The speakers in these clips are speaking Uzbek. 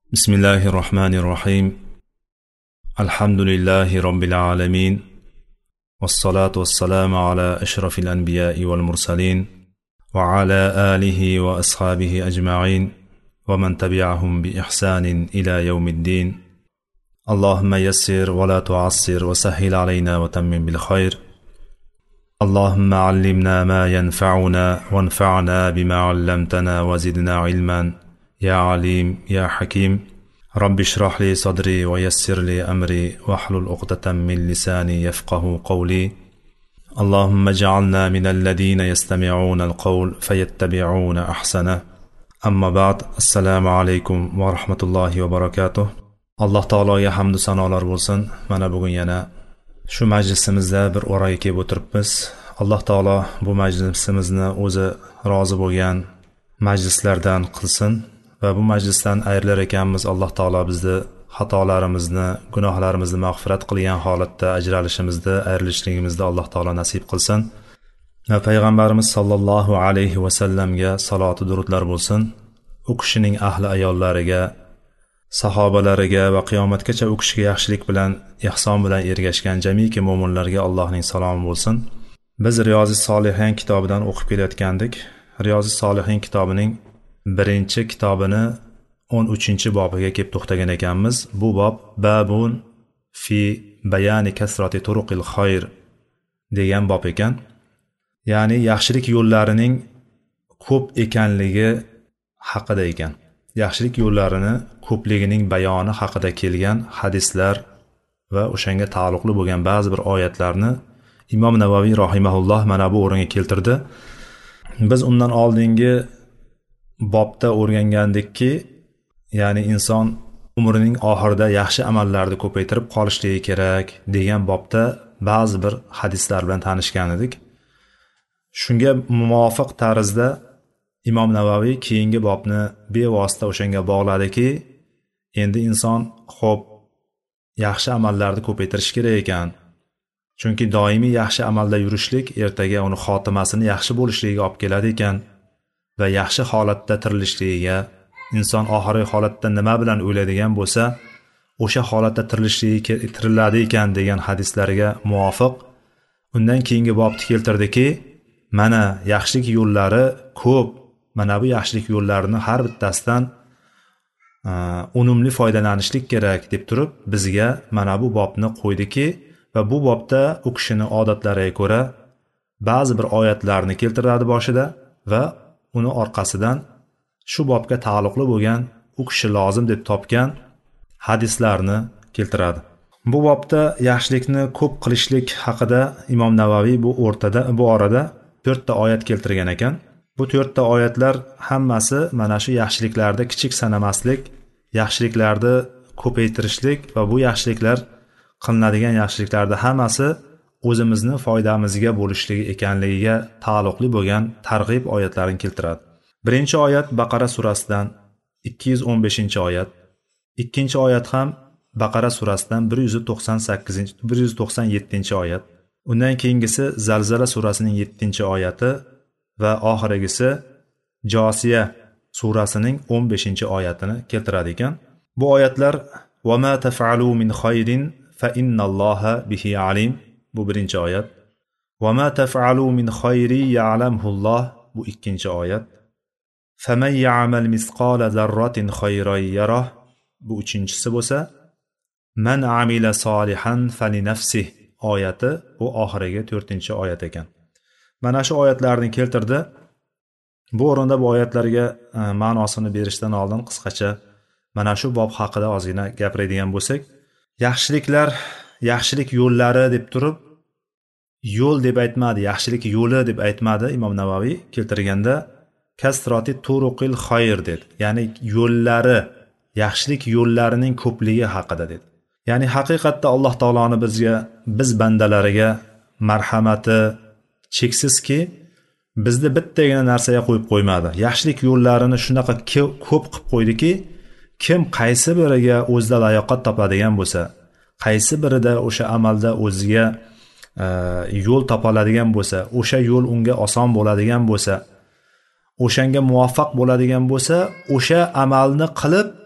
بسم الله الرحمن الرحيم. الحمد لله رب العالمين، والصلاة والسلام على أشرف الأنبياء والمرسلين وعلى آله وأصحابه أجمعين ومن تبعهم بإحسان إلى يوم الدين. اللهم يسر ولا تعسر وسهل علينا وتمم بالخير. اللهم علمنا ما ينفعنا وانفعنا بما علمتنا وزدنا علما يا عليم يا حكيم. رب اشرح لي صدري ويسر لي أمري واحلل عقدة من لساني يفقه قولي. اللهم اجعلنا من الذين يستمعون القول فيتبعون أحسنه. أما بعد، السلام عليكم ورحمة الله وبركاته. alloh taologa hamdu sanolar bo'lsin. Mana bugun yana shu majlisimizda bir o'raga kelib o'tiribmiz. alloh taolo bu majlisimizni o'zi rozi bo'lgan majlislardan qilsin va bu majlisdan ayrilar ekanmiz. alloh taolo bizni xatolarimizni, gunohlarimizni mag'firat qilgan holatda ajralishimizni, ayrilishligimizni alloh taolo nasib qilsin. Va payg'ambarimiz sollallohu alayhi va sallamga saloti durudlar bo'lsin. U kishining ahli ayollariga, sahobalariga va qiyomatgacha u kishiga yaxshilik bilan, ihson bilan ergashgan jamiki mo'minlarga Allohning salomi bo'lsin. Biz Riyozis Solihin kitobidan o'qib kelayotgandik. Riyozis Solihin kitobining birinchi kitobini 13-bobiga kelib to'xtagan ekanmiz. Bu bob babun fi bayani kasrati turuqil xayr degan bob ekan. Ya'ni yaxshilik yo'llarining ko'p ekanligi haqida ekan. Yaxshilik yo'llarini ko'pligining bayoni haqida kelgan hadislar va o'shanga taalluqli bo'lgan ba'zi bir oyatlarni Imom Navaviy rahimahulloh mana bu o'ringa keltirdi. Biz undan oldingi bobda o'rgangandikki, ya'ni inson umrining oxirida yaxshi amallarni ko'paytirib qolishligi kerak degan bobda ba'zi bir hadislar bilan tanishgan edik. Shunga muvofiq tarzda Imom Navaviy keyingi bobni bevosita o'shanga bog'ladiki, endi inson xo'p yaxshi amallarni ko'paytirish kerak ekan. Chunki doimiy yaxshi amalda yurishlik ertaga uni xotimasini yaxshi bo'lishligiga olib keladi ekan va yaxshi holatda tirilishligiga, inson oxirgi holatda nima bilan o'ladigan bo'lsa, o'sha holatda tiriladi ekan degan hadislarga muvofiq undan keyingi bobni keltirdiki, mana yaxshilik yo'llari ko'p. Mana bu yaxshilik yo'llarini har bittasidan unumli foydalanishlik kerak deb turib bizga mana bu bobni qo'ydiki va bu bobda u kishini odatlariga ko'ra ba'zi bir oyatlarni keltiradi boshida va uni orqasidan shu bobga taalluqli bo'lgan u kishi lozim deb topgan hadislarni keltiradi. Bu bobda yaxshilikni ko'p qilishlik haqida Imom Navaviy bu orada 4 ta oyat keltirgan ekan. Bu 4 ta oyatlar hammasi mana shu yaxshiliklarda kichik sanamaslik, yaxshiliklarni ko'paytirishlik va bu yaxshiliklar qilinadigan yaxshiliklarda hammasi o'zimizni foydamizga bo'lishligi ekanligiga taalluqli bo'lgan targ'ib oyatlarini keltiradi. Birinchi oyat Baqara surasidan 215-oyat. Ikkinchi oyat ham Baqara surasidan 197-oyat. Undan keyingisi Zalzala surasining 7-oyati va oxirgisi Josiya surasining 15-oyatini keltiradi ekan. Bu oyatlar va ma taf'alu min khayrin fa innalloha bihi alim. Bu birinchi oyat. Va ma taf'alu min khayri ya'lamhulloh. Bu ikkinchi oyat. Faman ya'mal misqala zarratin khayran yarah. Bu uchinchisi bo'lsa, man amila solihan fali nafsihi oyati bu oxirgi 4-oyat ekan. Mana shu oyatlarni keltirdi. Bu o'rinda bu oyatlarga ma'nosini berishdan oldin qisqacha mana shu bob haqida ozgina gapiradigan bo'lsak, yaxshiliklar, yaxshilik yo'llari deb turib, yo'l deb aytmadi, yaxshilik yo'li deb aytmadi. Imom Navaviy keltirganda kasrati turuqil xayr dedi. Ya'ni yo'llari, yaxshilik yo'llarining ko'pligi haqida dedi. Ya'ni haqiqatda Alloh taoloni biz bandalariga marhamati cheksizki, bizni bittagina narsaga qo'yib qo'ymadi. Yaxshilik yo'llarini shunaqa ko'p qilib qo'ydiki, kim qaysi biriga o'zida layoqat topadigan bo'lsa, qaysi birida o'sha amalda o'ziga yo'l topoladigan bo'lsa, o'sha yo'l unga oson bo'ladigan bo'lsa, o'shanga muvaffaq bo'ladigan bo'lsa, o'sha amalni qilib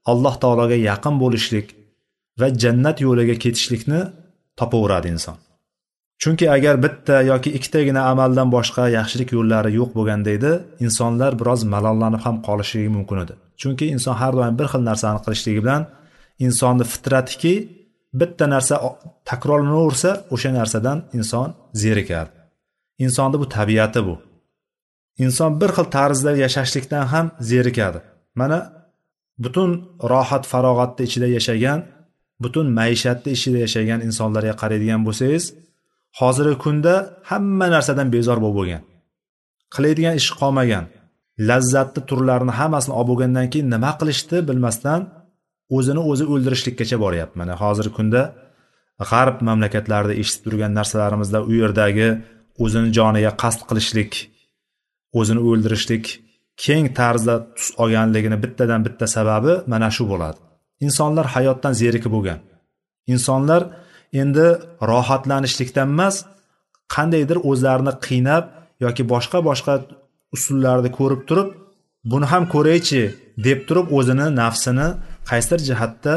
Alloh taologa yaqin bo'lishlik va jannat yo'liga ketishlikni topaveradi inson. Chunki agar bitta yoki ikkitagina amaldan boshqa yaxshilik yo'llari yo'q bo'lganda edi, insonlar biroz malollanib ham qolishligi mumkin edi. Chunki inson har doim bir xil narsani qilishligi bilan insonning fitratiki bitta narsa takrorlanaversa, o'sha narsadan inson zerikadi. Insonning bu tabiati bu. Inson bir xil tarzda yashashlikdan ham zerikadi. Mana butun rohat farog'atda ichida yashagan, butun maishatda ichida yashagan insonlarga qaraydigan bo'lsangiz, hozirgi kunda hamma narsadan bezor bo'lgan. Qiladigan ish qolmagan. Lazzatli turlarini hammasini olib bo'lgandan keyin nima qilishni bilmasdan o'zini o'zi o'ldirishlikkacha boryapti. Mana hozirgi kunda g'arb mamlakatlarida eshitib turgan narsalarimizda u yerdagi o'zini joniga qasd qilishlik, o'zini o'ldirishlik keng tarzda tus olganligini bittadan bitta sababi mana shu bo'ladi. Insonlar hayotdan zerikib bo'lgan. Insonlar endi rohatlanishlikdan emas, qandaydir o'zlarini qiynab yoki boshqa usullarni ko'rib turib, buni ham ko'raychi deb turib o'zini nafsini qaysidir jihatda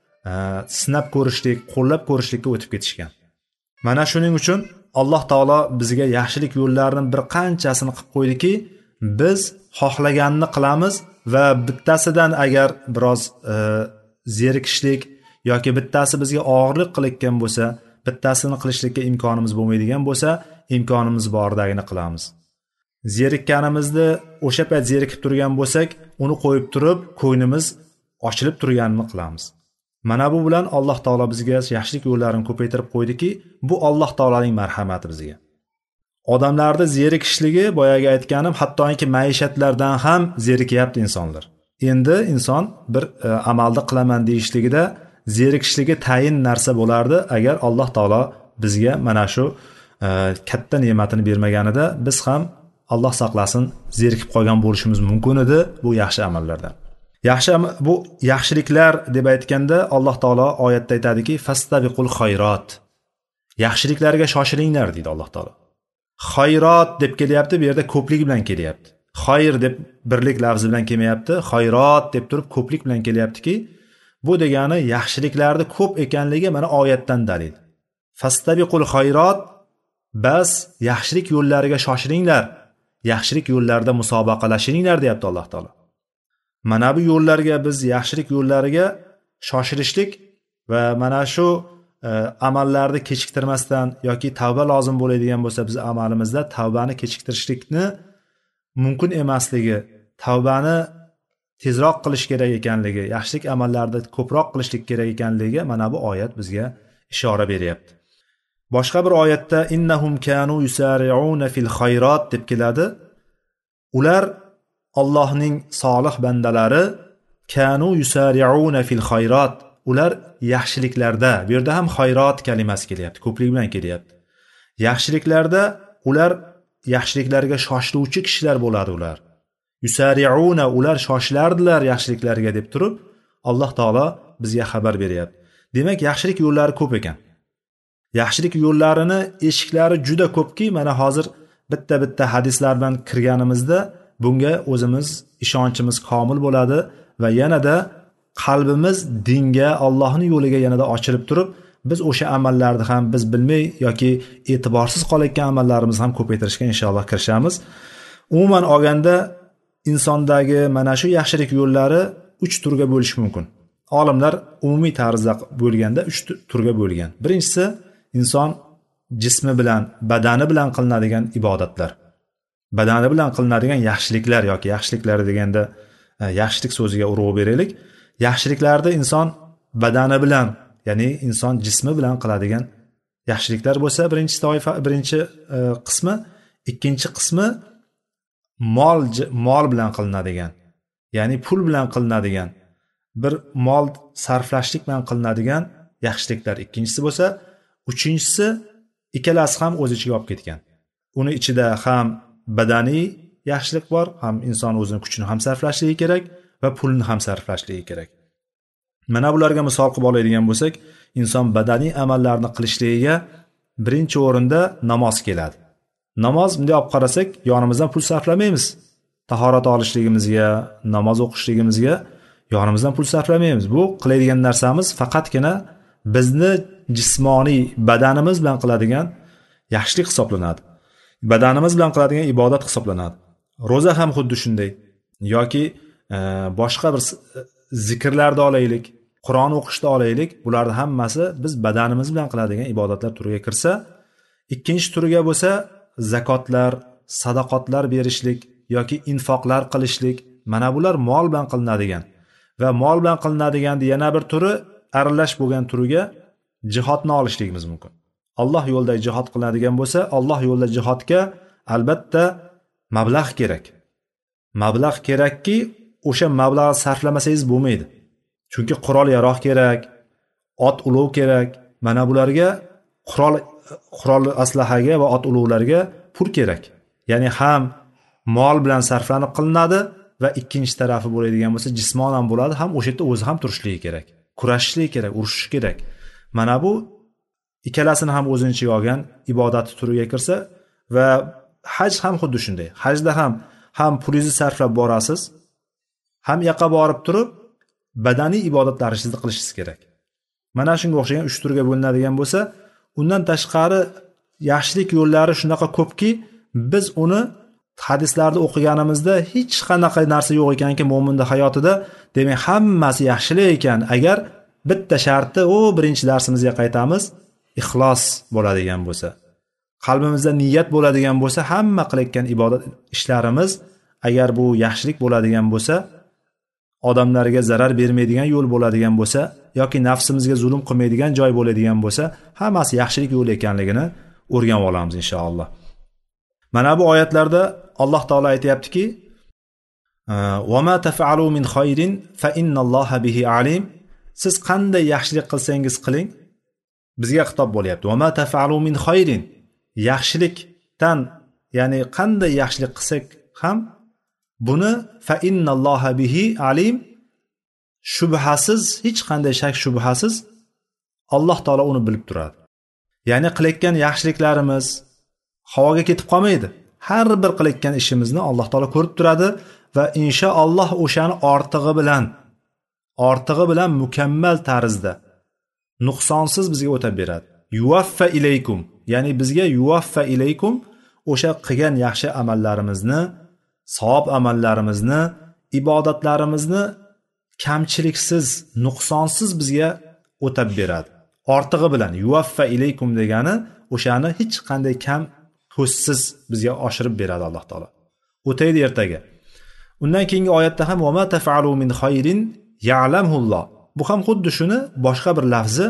sinab ko'rishlik, qo'llab ko'rishlikka o'tib ketishgan. Mana shuning uchun Alloh taolo bizga yaxshilik yo'llarini bir qanchasini qilib qo'ydiki, biz xohlaganini qilamiz va bittasidan agar biroz zerikishlik yoki bittasi bizga og'irlik qilayotgan bo'lsa, bittasini qilishlikka imkonimiz bo'lmaydigan bo'lsa, imkonimiz bordagini qilamiz. Zerikkanimizni o'sha payt zerikib turgan bo'lsak, uni qo'yib turib, ko'nglimiz ochilib turganini qilamiz. Mana bu bilan Alloh taolo bizga yaxshilik yo'llarini ko'paytirib qo'ydiki, bu Alloh taolaning marhamati bizga. Odamlarning zerikishligi, boyaga aytganim, hattoki maishatlardan ham zerikyapti insonlar. Endi inson bir amalda qilaman deyishligida zerikishligi tayin narsa bo'lardi agar Alloh taolo bizga mana shu katta ne'matini bermaganida biz ham Alloh saqlasin zerikib qolgan bo'lishimiz mumkin edi bu yaxshi amallardan. Bu yaxshiliklar deb aytganda Alloh taolo oyatda aytadiki, fastabiqul xayrot. Yaxshiliklarga shoshilinglar deydi Alloh taolo. Xayrot deb kelyapti, bu yerda ko'plik bilan kelyapti. Xayr deb birlik lafzi bilan kelmayapti, xayrot deb turib ko'plik bilan kelyaptiki, bu degani yaxshiliklarning ko'p ekanligi mana oyatdan dalil. Fastabiqul xayrot, bas yaxshilik yo'llariga shoshilinglar. Yaxshilik yo'llarida musobaqalashinglar deyapti Alloh taolo. Mana bu yo'llarga biz yaxshilik yo'llariga shoshilishlik va mana shu amallarni kechiktirmasdan yoki tavba lozim bo'ladigan bo'lsa biz amalimizda tavbani kechiktirishlikni mumkin emasligi, tavbani tezroq qilish kerak ekanligi, yaxshilik amallarni ko'proq qilishlik kerak ekanligiga mana bu oyat bizga ishora beryapti. Boshqa bir oyatda innahum kanu yusari'una fil xayrot deb keladi. Ular Allohning solih bandalari kanu yusari'una fil xayrot, ular yaxshiliklarda, bu yerda ham xayrot kalimasi kelyapti, ko'plik bilan kelyapti. Yaxshiliklarda ular yaxshiliklarga shoshiluvchi kishilar bo'ladi ular. Yusari'una, ular shoshilardilar yaxshiliklarga deb turib Alloh taolo bizga xabar beryapti. Demak, yaxshilik yo'llari ko'p ekan. Yaxshilik yo'llarini eshiklari juda ko'pki, mana hozir bitta hadislar bilan kirganimizda bunga o'zimiz ishonchimiz komil bo'ladi va yanada qalbimiz dinga, Allohning yo'liga yanada ochilib turib, biz o'sha amallarni ham biz bilmay yoki e'tiborsiz qolayotgan amallarimizni ham ko'paytirishga inshaalloh kirishamiz. Umuman olganda insondagi mana shu yaxshilik yo'llari 3 turga bo'lish mumkin. Olimlar umumiy tarzda bo'lganda 3 turga bo'lgan. Birinchisi inson jismi bilan, badani bilan qilinadigan ibodatlar. Badani bilan qilinadigan yaxshiliklar yoki yaxshiliklar deganda yaxshilik so'ziga urg'u beraylik. Yaxshiliklarda inson badani bilan, ya'ni inson jismi bilan qiladigan yaxshiliklar bo'lsa, birinchi qismi, ikkinchi qismi mol bilan qilinadigan, ya'ni pul bilan qilinadigan, bir mol sarflashlik bilan qilinadigan yaxshiliklar ikkinchisi bo'lsa, uchinchisi ikkalasi ham o'z ichiga olib ketgan. Uni ichida ham badaniy yaxshilik bor, ham inson o'zining kuchini ham sarflashligi kerak va pulni ham sarflashligi kerak. Mana bularga misol qilib oladigan bo'lsak, inson badaniy amallarni qilishligiga birinchi o'rinda namoz keladi. Namoz bunday olib qarasak, yonimizdan pul sarflamaymiz. Tahorat olishligimizga, namoz o'qishligimizga yonimizdan pul sarflamaymiz. Bu qiladigan narsamiz faqatgina bizni jismoniy badanimiz bilan qiladigan yaxshilik hisoblanadi. Badanimiz bilan qiladigan ibodat hisoblanadi. Roza ham xuddi shunday. Yoki boshqa bir zikrlarda olaylik, Qur'on o'qishda olaylik, bularning hammasi biz badanimiz bilan qiladigan ibodatlar turiga kirsa, ikkinchi turiga bo'lsa zakotlar, sadaqotlar berishlik yoki infoqlar qilishlik, mana bular mol bilan qilinadigan va mol bilan qilinadigan yana bir turi aralash bo'lgan turiga jihodni olishligimiz mumkin. Alloh yo'lida jihod qilinadigan bo'lsa, Alloh yo'lida jihodga albatta mablag' kerak. Mablag' kerakki, o'sha mablag'ni sarflamasangiz bo'lmaydi. Chunki qurol-yarog' kerak, ot ulov kerak. Mana bularga qurol aslahaga va ot ulovlarga pul kerak. Ya'ni ham mol bilan sarflanib qilinadi va ikkinchi tarafi bo'ladigan bo'lsa jismonan bo'ladi, ham o'sha yerda o'zi ham turishligi kerak, kurashishligi kerak, urushish kerak. Mana bu ikkalasini ham o'zini ichiga olgan ibodat turiga kirsa va haj ham xuddi shunday. Hajda ham pulingizni sarflab borasiz, ham yoqqa borib turib badaniy ibodatlaringizni qilishingiz kerak. Mana shunga o'xshagan 3 turga bo'linadigan bo'lsa, undan tashqari yaxshilik yo'llari shunaqa ko'pki, biz uni hadislarda o'qiganimizda hech qanaqa narsa yo'q ekanki, mo'minning hayotida, demak hammasi yaxshilik ekan. Agar bitta sharti, birinchi darsimizga qaytamiz, ixlos bo'ladigan bo'lsa, qalbimizda niyat bo'ladigan bo'lsa, hamma qilayotgan ibodat ishlarimiz agar bu yaxshilik bo'ladigan bo'lsa, odamlarga zarar bermaydigan yo'l bo'ladigan bo'lsa yoki nafsimizga zulm qilmaydigan joy bo'ladigan bo'lsa, hammasi yaxshilik yo'li ekanligini o'rganib olamiz inshaalloh. Mana bu oyatlarda Alloh taolo aytayaptiki: "Va ma taf'alu min khayrin fa innalloha bihi alim." Siz qanday yaxshilik qilsangiz qiling, bizga xitob bo'lyapti. "Va ma taf'alu min khayrin." Yaxshilikdan, ya'ni qanday yaxshilik qilsak ham buni fa innalloha bihi alim, shubhasiz, hech qanday shak shubhasiz Alloh taolo uni bilib turadi. Ya'ni qilayotgan yaxshiliklarimiz havoga ketib qolmaydi. Har bir qilayotgan ishimizni Alloh taolo ko'rib turadi va inshaalloh o'shani ortig'i bilan mukammal tarzda nuqsonsiz bizga o'tab beradi. Yuvaffa ilaykum, ya'ni bizga yuvaffa ilaykum o'sha qilgan yaxshi amallarimizni, savob amallarimizni, ibodatlarimizni kamchiliksiz, nuqsonsiz bizga o'tab beradi. Ortig'i bilan yuvaffa ilaykum degani o'shani hech qanday kam ko'zsiz bizga oshirib beradi Alloh taolo. O'taydi ertaga. Undan keyingi oyatda ham va ma taf'alu min khayrin ya'lamulloh. Bu ham xuddi shuni boshqa bir lafzi.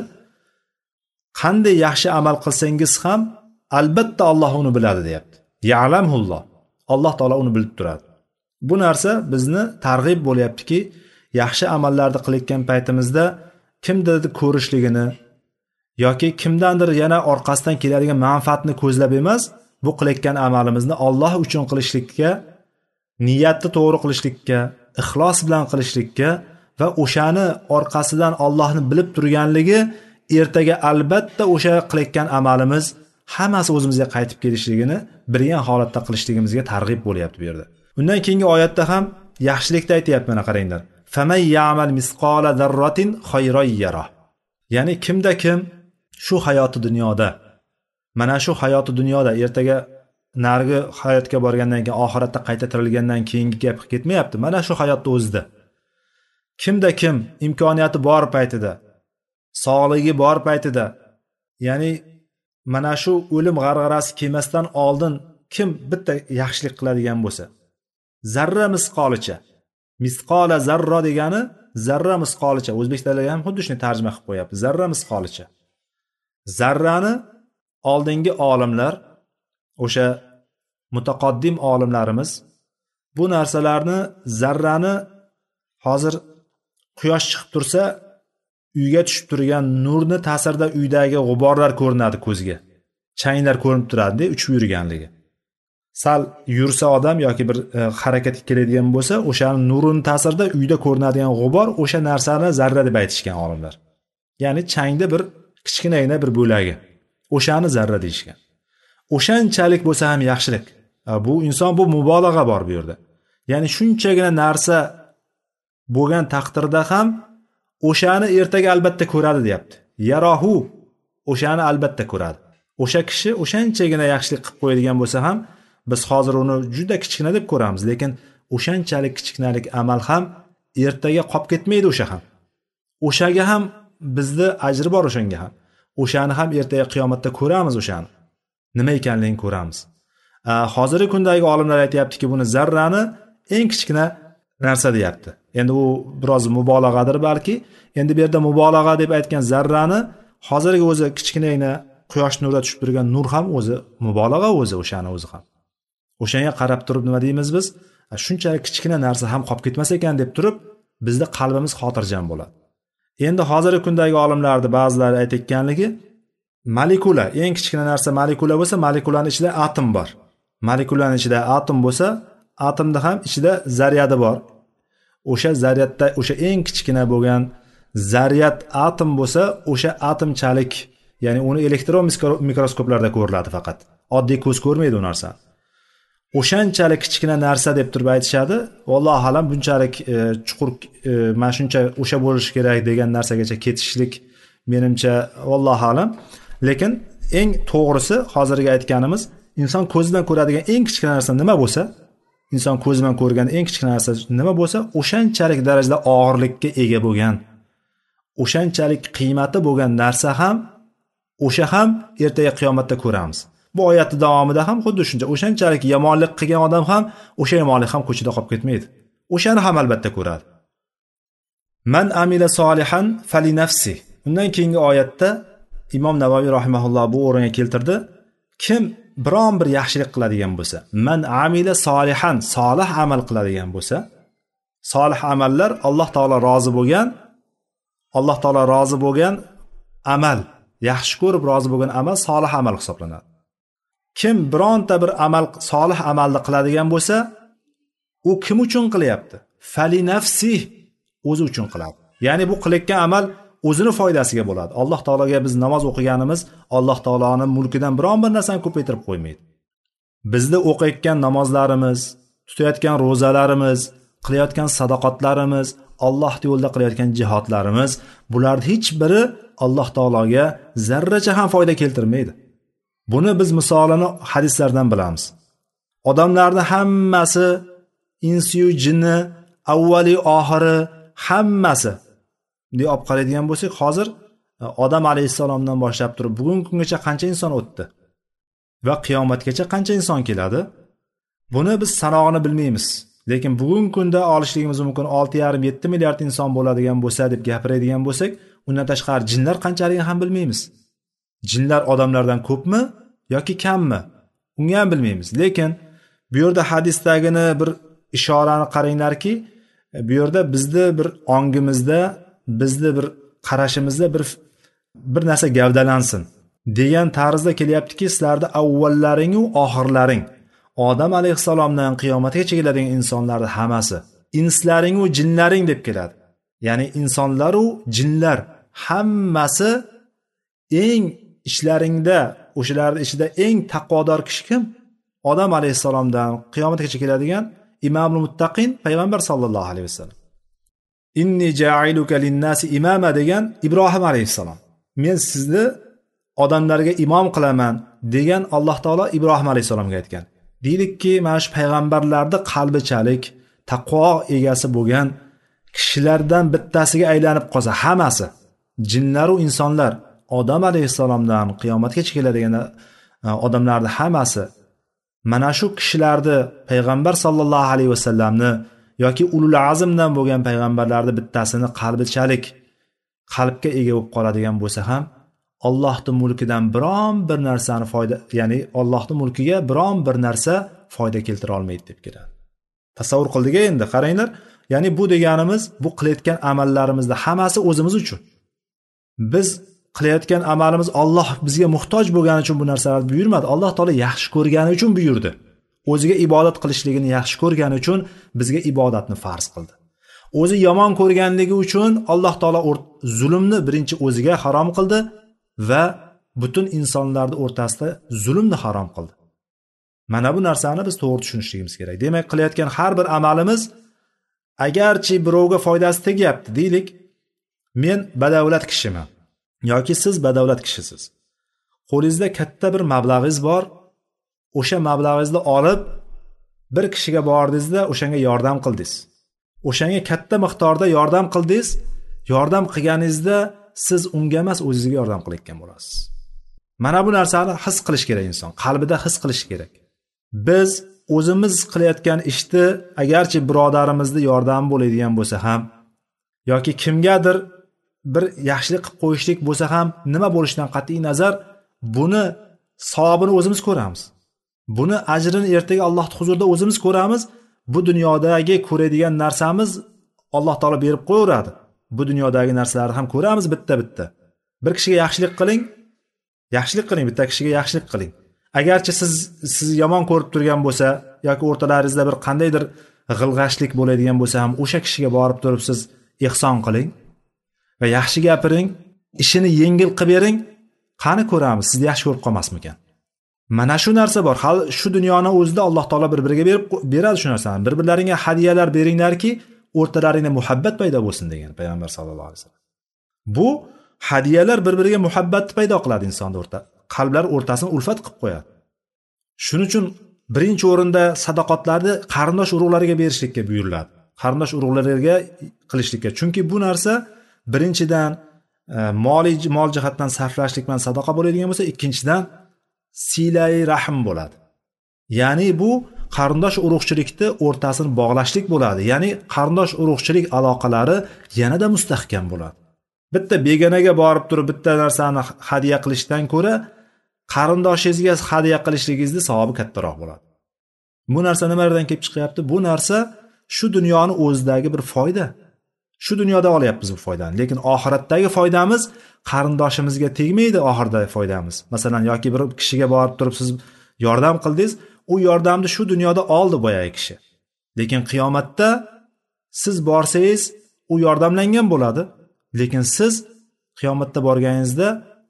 Qanday yaxshi amal qilsangiz ham albatta Alloh uni biladi deyapti. Ya'lamulloh. Alloh taolo uni bilib turadi. Bu narsa bizni targ'ib bo'lyaptiki, yaxshi amallarni qilayotgan paytimizda kimdirni ko'rishligini yoki kimdandir yana orqasidan keladigan manfaatni ko'zlab emas, bu qilayotgan amalimizni Alloh uchun qilishlikka, niyatni to'g'ri qilishlikka, ixlos bilan qilishlikka va o'shani orqasidan Allohni bilib turganligi, ertaga albatta o'sha qilayotgan amalimiz hammasi o'zimizga qaytib kelishligini bilgan holatda qilishligimizga targ'ib bo'lyapti bu yerda. Undan keyingi oyatda ham yaxshilikda aytayapti, mana qaranglar. Famay ya'mal misqala zarratin khayran yara. Ya'ni kimda kim shu hayoti dunyoda, mana shu hayoti dunyoda ertaga nargi hayotga borgandan keyin, oxiratda qayta tirilgandan keyingi gap ketmayapti. Mana shu hayotda o'zida kimda kim imkoniyati bor paytida, sog'ligi bor paytida, ya'ni mana shu o'lim g'arg'arasi kelmasdan oldin kim bitta yaxshilik qiladigan bo'lsa, zarra misqolicha, misqola zarra degani zarra misqolicha, o'zbek tilida ham xuddi shuni tarjima qilib qo'yapti. Zarra misqolicha. Zarrani oldingi olimlar, o'sha mutaqaddim olimlarimiz bu narsalarni, zarrani, hozir quyosh chiqib tursa uyga tushib turgan nurni ta'sirida uydagi g'uborlar ko'rinadi ko'zga. Changlar ko'rinib turadi, uchib yurganligi. Sal yursa odam yoki bir harakatga keladigan bo'lsa, o'shaning nurining ta'sirida uyda ko'rinadigan g'ubor o'sha narsani zarra deb aytishgan olimlar. Ya'ni changda bir kichkinagina bir bo'lagi. O'shani zarra deyishgan. O'shanchalik bo'lsa ham yaxshilik. Bu inson, bu mubolag'a bor bu yerda. Ya'ni shunchagina narsa bo'lgan taqdirda ham o'shani ertaga albatta ko'radi deyapti. Yarohu, o'shani albatta ko'radi. O'sha kishi o'shanchagina yaxshilik qilib qo'yadigan bo'lsa ham biz hozir uni juda kichkina deb ko'ramiz, lekin o'shanchalik kichkinalik amal ham ertaga qolib ketmaydi. O'sha ham, o'shaga ham bizda ajri bor. O'shanga ham, o'shani ham ertaga qiyomatda ko'ramiz. O'shani nima ekanligini ko'ramiz. Hozirgi kundagi olimlar aytayaptiki, buni zarrani eng kichkina narsa deyapti. Endi u biroz mubolag'adir balki. Endi bu yerda mubolag'a deb aytgan zarrani hozirgi o'zi kichkinagina quyosh nurida tushib turgan nur ham o'zi mubolag'a, o'zi o'shani o'zi ham. O'shanga qarab turib nima deymiz biz? Shunchalik kichkina narsa ham qolib ketmas ekan deb turib, bizning qalbimiz xotirjam bo'ladi. Endi hozirgi kundagi olimlarning ba'zilari aytayotganligi, molekula, eng kichkina narsa molekula bo'lsa, molekulaning ichida atom bor. Molekulaning ichida atom bo'lsa, atomda ham ichida zaryadi bor. O'sha zaryadda, o'sha eng kichkina bo'lgan zaryad atom bo'lsa, o'sha atomchalik, ya'ni uni elektron mikroskoplarda ko'riladi faqat. Oddiy ko'z ko'rmaydi u narsani. O'shanchalik kichkina narsa deb turib aytishadi. Vallohu alam bunchalik chuqur, mana shuncha o'sha bo'lishi kerak degan narsagacha ketishlik menimcha vallohu alam. Lekin eng to'g'risi hozirgi aytganimiz, inson ko'zidan ko'radigan eng kichkina narsa nima bo'lsa, inson ko'zidan ko'rgan eng kichkina narsa nima bo'lsa, o'shanchalik darajada og'irlikka ega bo'lgan, o'shanchalik qiymati bo'lgan narsa ham, o'sha ham ertaga qiyomatda ko'ramiz. Bu oyatning davomida ham xuddi shuncha, o'shanchalik yomonlik qilgan odam ham o'sha yomonlik ham ko'chada qolib ketmaydi. O'shani ham albatta ko'radi. Man amila solihan fali nafsi. Undan keyingi oyatda Imom Navoiy rahimahulloh bu o'ringa keltirdi. Kim biron bir yaxshilik qiladigan bo'lsa, man amila solihan, solih amal qiladigan bo'lsa, solih amallar Alloh taolo rozi bo'lgan amal, yaxshi ko'rib rozi bo'lgan amal solih amal hisoblanadi. Kim bironta bir amal, solih amalni qiladigan bo'lsa, u kim uchun qilyapti? Fali nafsi, o'zi uchun qiladi. Ya'ni bu qilayotgan amal o'zini foydasiga bo'ladi. Alloh taologa biz namoz o'qiganimiz Alloh taoloning mulkidan biron bir narsani ko'paytirib qo'ymaydi. Bizda o'qiyotgan namozlarimiz, tutayotgan ro'zalarimiz, qilayotgan sadoqatlarimiz, Alloh yo'lida qilayotgan jihodlarimiz, bularning hech biri Alloh taologa zarracha ham foyda keltirmaydi. Buni biz misolini hadislardan bilamiz. Odamlarning hammasi, insiyu jinni, avvali oxiri hammasi deb olib qaraydigan bo'lsak, hozir Odam alayhissalomdan boshlab turib bugungi kungacha qancha inson o'tdi va qiyomatgacha qancha inson keladi? Buni biz sanog'ini bilmaymiz. Lekin bugungi kunda olishligimiz mumkin 6,5-7 milliard inson bo'ladigan bo'lsa deb gapiradigan bo'lsak, undan tashqari jinlar qanchaligini ham bilmaymiz. Jinlar odamlardan ko'pmi yoki kammi? Uni ham bilmaymiz. Lekin bu yerda hadisdagini bir ishorani qaranglarki, bu yerda bizni bir ongimizda, bizni bir qarashimizda bir narsa gavdalansin degan tarzda kelyaptiki, sizlarda avvallaring va oxirlaring, Odam alayhissalomdan qiyomatgacha keladigan insonlarning hammasi, inslaring va jinlaring deb keladi. Ya'ni insonlar va jinlar hammasi eng ishlaringda, o'shalarning ichida eng taqvodor kishi kim? Odam alayhissalomdan qiyomatgacha keladigan imomul muttaqin payg'ambar sallallohu alayhi vasallam. Inni ja'iluka lin-nasi imama degan Ibrohim alayhissalom. Men sizni odamlarga imom qilaman degan Alloh taolo Ibrohim alayhissalomga aytgan. Deylikki, mana shu payg'ambarlarning qalbichalik, taqvo egasi bo'lgan kishilardan bittasiga aylanib qolsa, hammasi, jinlar va insonlar, Odam alayhissalomdan qiyomatgacha keladigan odamlarning hammasi mana shu kishilarni payg'ambar sallallohu alayhi vasallamni yoki ulul azmdan bo'lgan payg'ambarlarning bittasini qalbichalik, qalbga ega bo'lib qoladigan bo'lsa ham, Allohning mulkidan biron bir narsani foyda, ya'ni Allohning mulkiga biron bir narsa foyda keltira olmaydi deb keladi. Tasavvur qildik endi, qaranglar. Ya'ni bu deganimiz, bu qilayotgan amallarimizni hammasi o'zimiz uchun. Biz qilayotgan amalimiz Alloh bizga muhtoj bo'lgani uchun bu narsalarni buyurmadi. Alloh taolo yaxshi ko'rgani uchun buyurdi. O'ziga ibodat qilishligini yaxshi ko'rgani uchun bizga ibodatni farz qildi. O'zi yomon ko'rganligi uchun Alloh taolo zulmni birinchi o'ziga harom qildi va butun insonlarning o'rtasida zulmni harom qildi. Mana bu narsani biz to'g'ri tushunishligimiz kerak. Demak, qilayotgan har bir amalimiz agarchi birovga foydasi tegyapti deylik, men badavlat kishiman yoki siz badavlat kishisiz, qo'lingizda katta bir mablag'ingiz bor, o'sha mablag'ingizni olib bir kishiga bordingizda o'shanga yordam qildingiz, o'shanga katta miqdorda yordam qildingiz. Yordam qilganingizda siz unga emas, o'zingizga yordam qilayotgan bo'lasiz. Mana bu narsani his qilish kerak, inson qalbida his qilish kerak. Biz o'zimiz qilayotgan ishni agarchi birodarimizni yordami bo'ladigan bo'lsa ham yoki kimgadir bir yaxshilik qilib qo'yishlik bo'lsa ham, nima bo'lishidan qat'iy nazar, buni savobini o'zimiz ko'ramiz. Buni ajrini ertaga Allohning huzurida o'zimiz ko'ramiz. Bu dunyodagi ko'radigan narsamiz Alloh taolo berib qo'yaveradi. Bu dunyodagi narsalarni ham ko'ramiz bitta-bitta. Bir kishiga yaxshilik qiling, bitta kishiga yaxshilik qiling. Agarchi sizni yomon ko'rib turgan bo'lsa yoki o'rtalaringizda bir qandaydir g'ilg'ashlik bo'ladigan bo'lsa ham, o'sha kishiga borib turib siz ihson qiling va yaxshi gapiring, ishini yengil qilib bering. Qani ko'ramiz, sizni yaxshi ko'rib qolmasmikan? Mana shu narsa bor. Hal shu dunyoni o'zida Alloh taolo bir-biriga beradi shu narsani. Bir-birlaringga hadiyalar beringlarki, o'rtalaringda muhabbat paydo bo'lsin degan payg'ambar sollallohu alayhi vasallam. Bu hadiyalar bir-biriga muhabbatni paydo qiladi insonning qalblar o'rtasini ulfat qilib qo'yadi. Shuning uchun birinchi o'rinda sadoqatlarni qarindosh urug'larga berishlikka buyuriladi. Qarindosh urug'larga qilishlikka. Chunki bu narsa birinchidan mol jihatdan sarflashlik bilan sadaqa bo'ladigan bo'lsa, ikkinchidan silai rahm bo'ladi. Ya'ni bu qarindosh urug'chilikni o'rtasini bog'lashlik bo'ladi. Ya'ni qarindosh urug'chilik aloqalari yanada mustahkam bo'ladi. Bitta begonaga borib turib bitta narsani hadiya qilishdan ko'ra, qarindoshingizga hadiya qilishligingizni savobi kattaroq bo'ladi. Bu narsa nimalardan kelib chiqyapti? Bu narsa shu dunyoni o'zidagi bir foyda. Shu dunyoda olyapmiz bu foydani, lekin oxiratdagi foydamiz qarindoshimizga tegmaydi. Oxirdagi foydamiz, masalan, yoki bir kishiga borib turib siz yordam qildingiz, u yordamni shu dunyoda oldi boyagi kishi. Lekin qiyomatda siz borsangiz, u yordamlangan bo'ladi, lekin siz qiyomatda borganingizda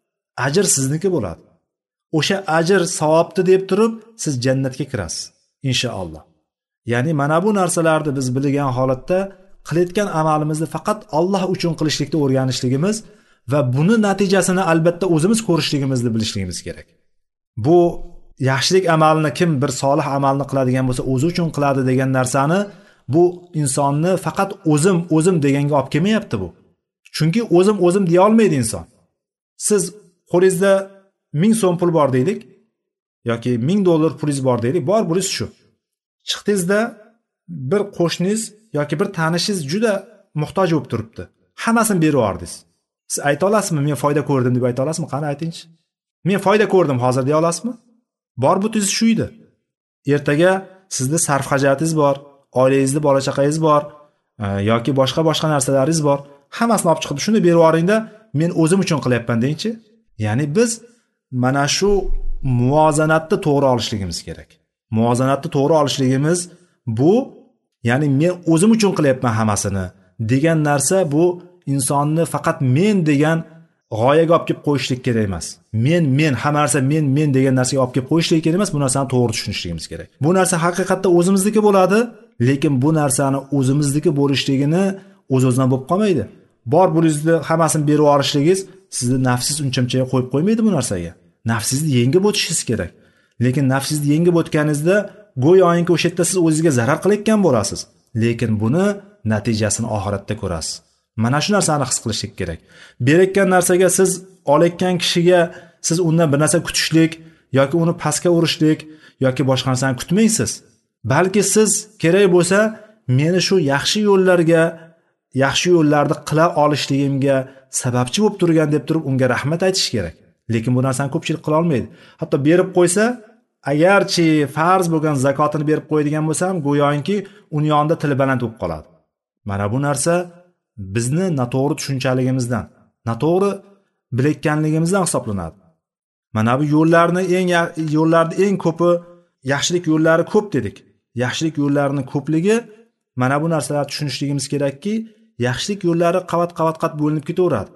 ajr sizniki bo'ladi. O'sha ajr savobni deb turib siz jannatga kirasiz inshaalloh. Ya'ni mana bu narsalarni biz bilgan holatda qilayotgan amalimizni faqat Alloh uchun qilishlikni o'rganishligimiz va buni natijasini albatta o'zimiz ko'rishligimizni bilishligimiz kerak. Bu yaxshilik amalini kim bir solih amalni qiladigan bo'lsa o'zi uchun qiladi degan narsani bu insonni faqat o'zim deganga olib kelmayapti bu. Chunki o'zim deya olmaydi inson. Siz qo'lingizda 1000 so'm pul bor deylik yoki $1000 pulingiz bor deylik, bor pulingiz shu. Chiqdingizda bir qo'shningiz yoki bir tanishingiz juda muhtoj bo'lib turibdi. Hammasini berib yubordingiz. Siz ayta olasizmi, men foyda ko'rdim deb ayta olasizmi? Qani aytingchi. Men foyda ko'rdim hozir deya olasizmi? Bor butingiz shu edi. Ertaga sizda sarf hajotingiz bor, oilangizda bola chaqangiz bor yoki boshqa narsalaringiz bor. Hammasini olib chiqib shuni berib yuboringda, men o'zim uchun qilyapman deyinchi. Ya'ni biz mana shu muvozanatni to'g'ri olishligimiz kerak. Muvozanatni to'g'ri olishligimiz bu, ya'ni men o'zim uchun qilyapman hammasini degan narsa, bu insonni faqat men degan g'oyaga olib kelib qo'yishlik kerak emas. Men hamma narsa men degan narsaga olib kelib qo'yishlik kerak emas. Bu narsani to'g'ri tushunishligimiz kerak. Bu narsa haqiqatda o'zimizniki bo'ladi, lekin bu narsani o'zimizniki bo'lishligini o'z-o'zidan bo'lib qolmaydi. Bor bulizni hammasini berib yorishligingiz sizni nafsiz uncha-muncha qo'yib qo'ymaydi bu narsaga. Nafsizni yengib o'tishingiz kerak. Lekin nafsizni yengib o'tganingizda go'yoki o'sha yerda siz o'zingizga zarar qilayotgan bo'lasiz. Lekin buni natijasini oxiratda ko'rasiz. Mana shu narsani his qilishlik kerak. Berayotgan narsaga siz olayotgan kishiga siz undan bir narsa kutishlik yoki uni pastga urishlik yoki boshqa narsani kutmaysiz. Balki siz kerak bo'lsa meni shu yaxshi yo'llarni qila olishligimga sababchi bo'lib turgan deb turib unga rahmat aytish kerak. Lekin bu narsani ko'pchilik qila olmaydi. Hatto berib qo'ysa, agarchi farz bo'lgan zakotini berib qo'yadigan bo'lsa ham go'yoki uning yonida tili baland bo'lib qoladi. Mana bu narsa bizni noto'g'ri tushunchaligimizdan, noto'g'ri bilayotganligimizdan hisoblanadi. Mana bu yo'llarni eng ko'pi yaxshilik yo'llari ko'p dedik. Yaxshilik yo'llarining ko'pligi, mana bu narsalarni tushunishligimiz kerakki, yaxshilik yo'llari qavat bo'linib ketaveradi.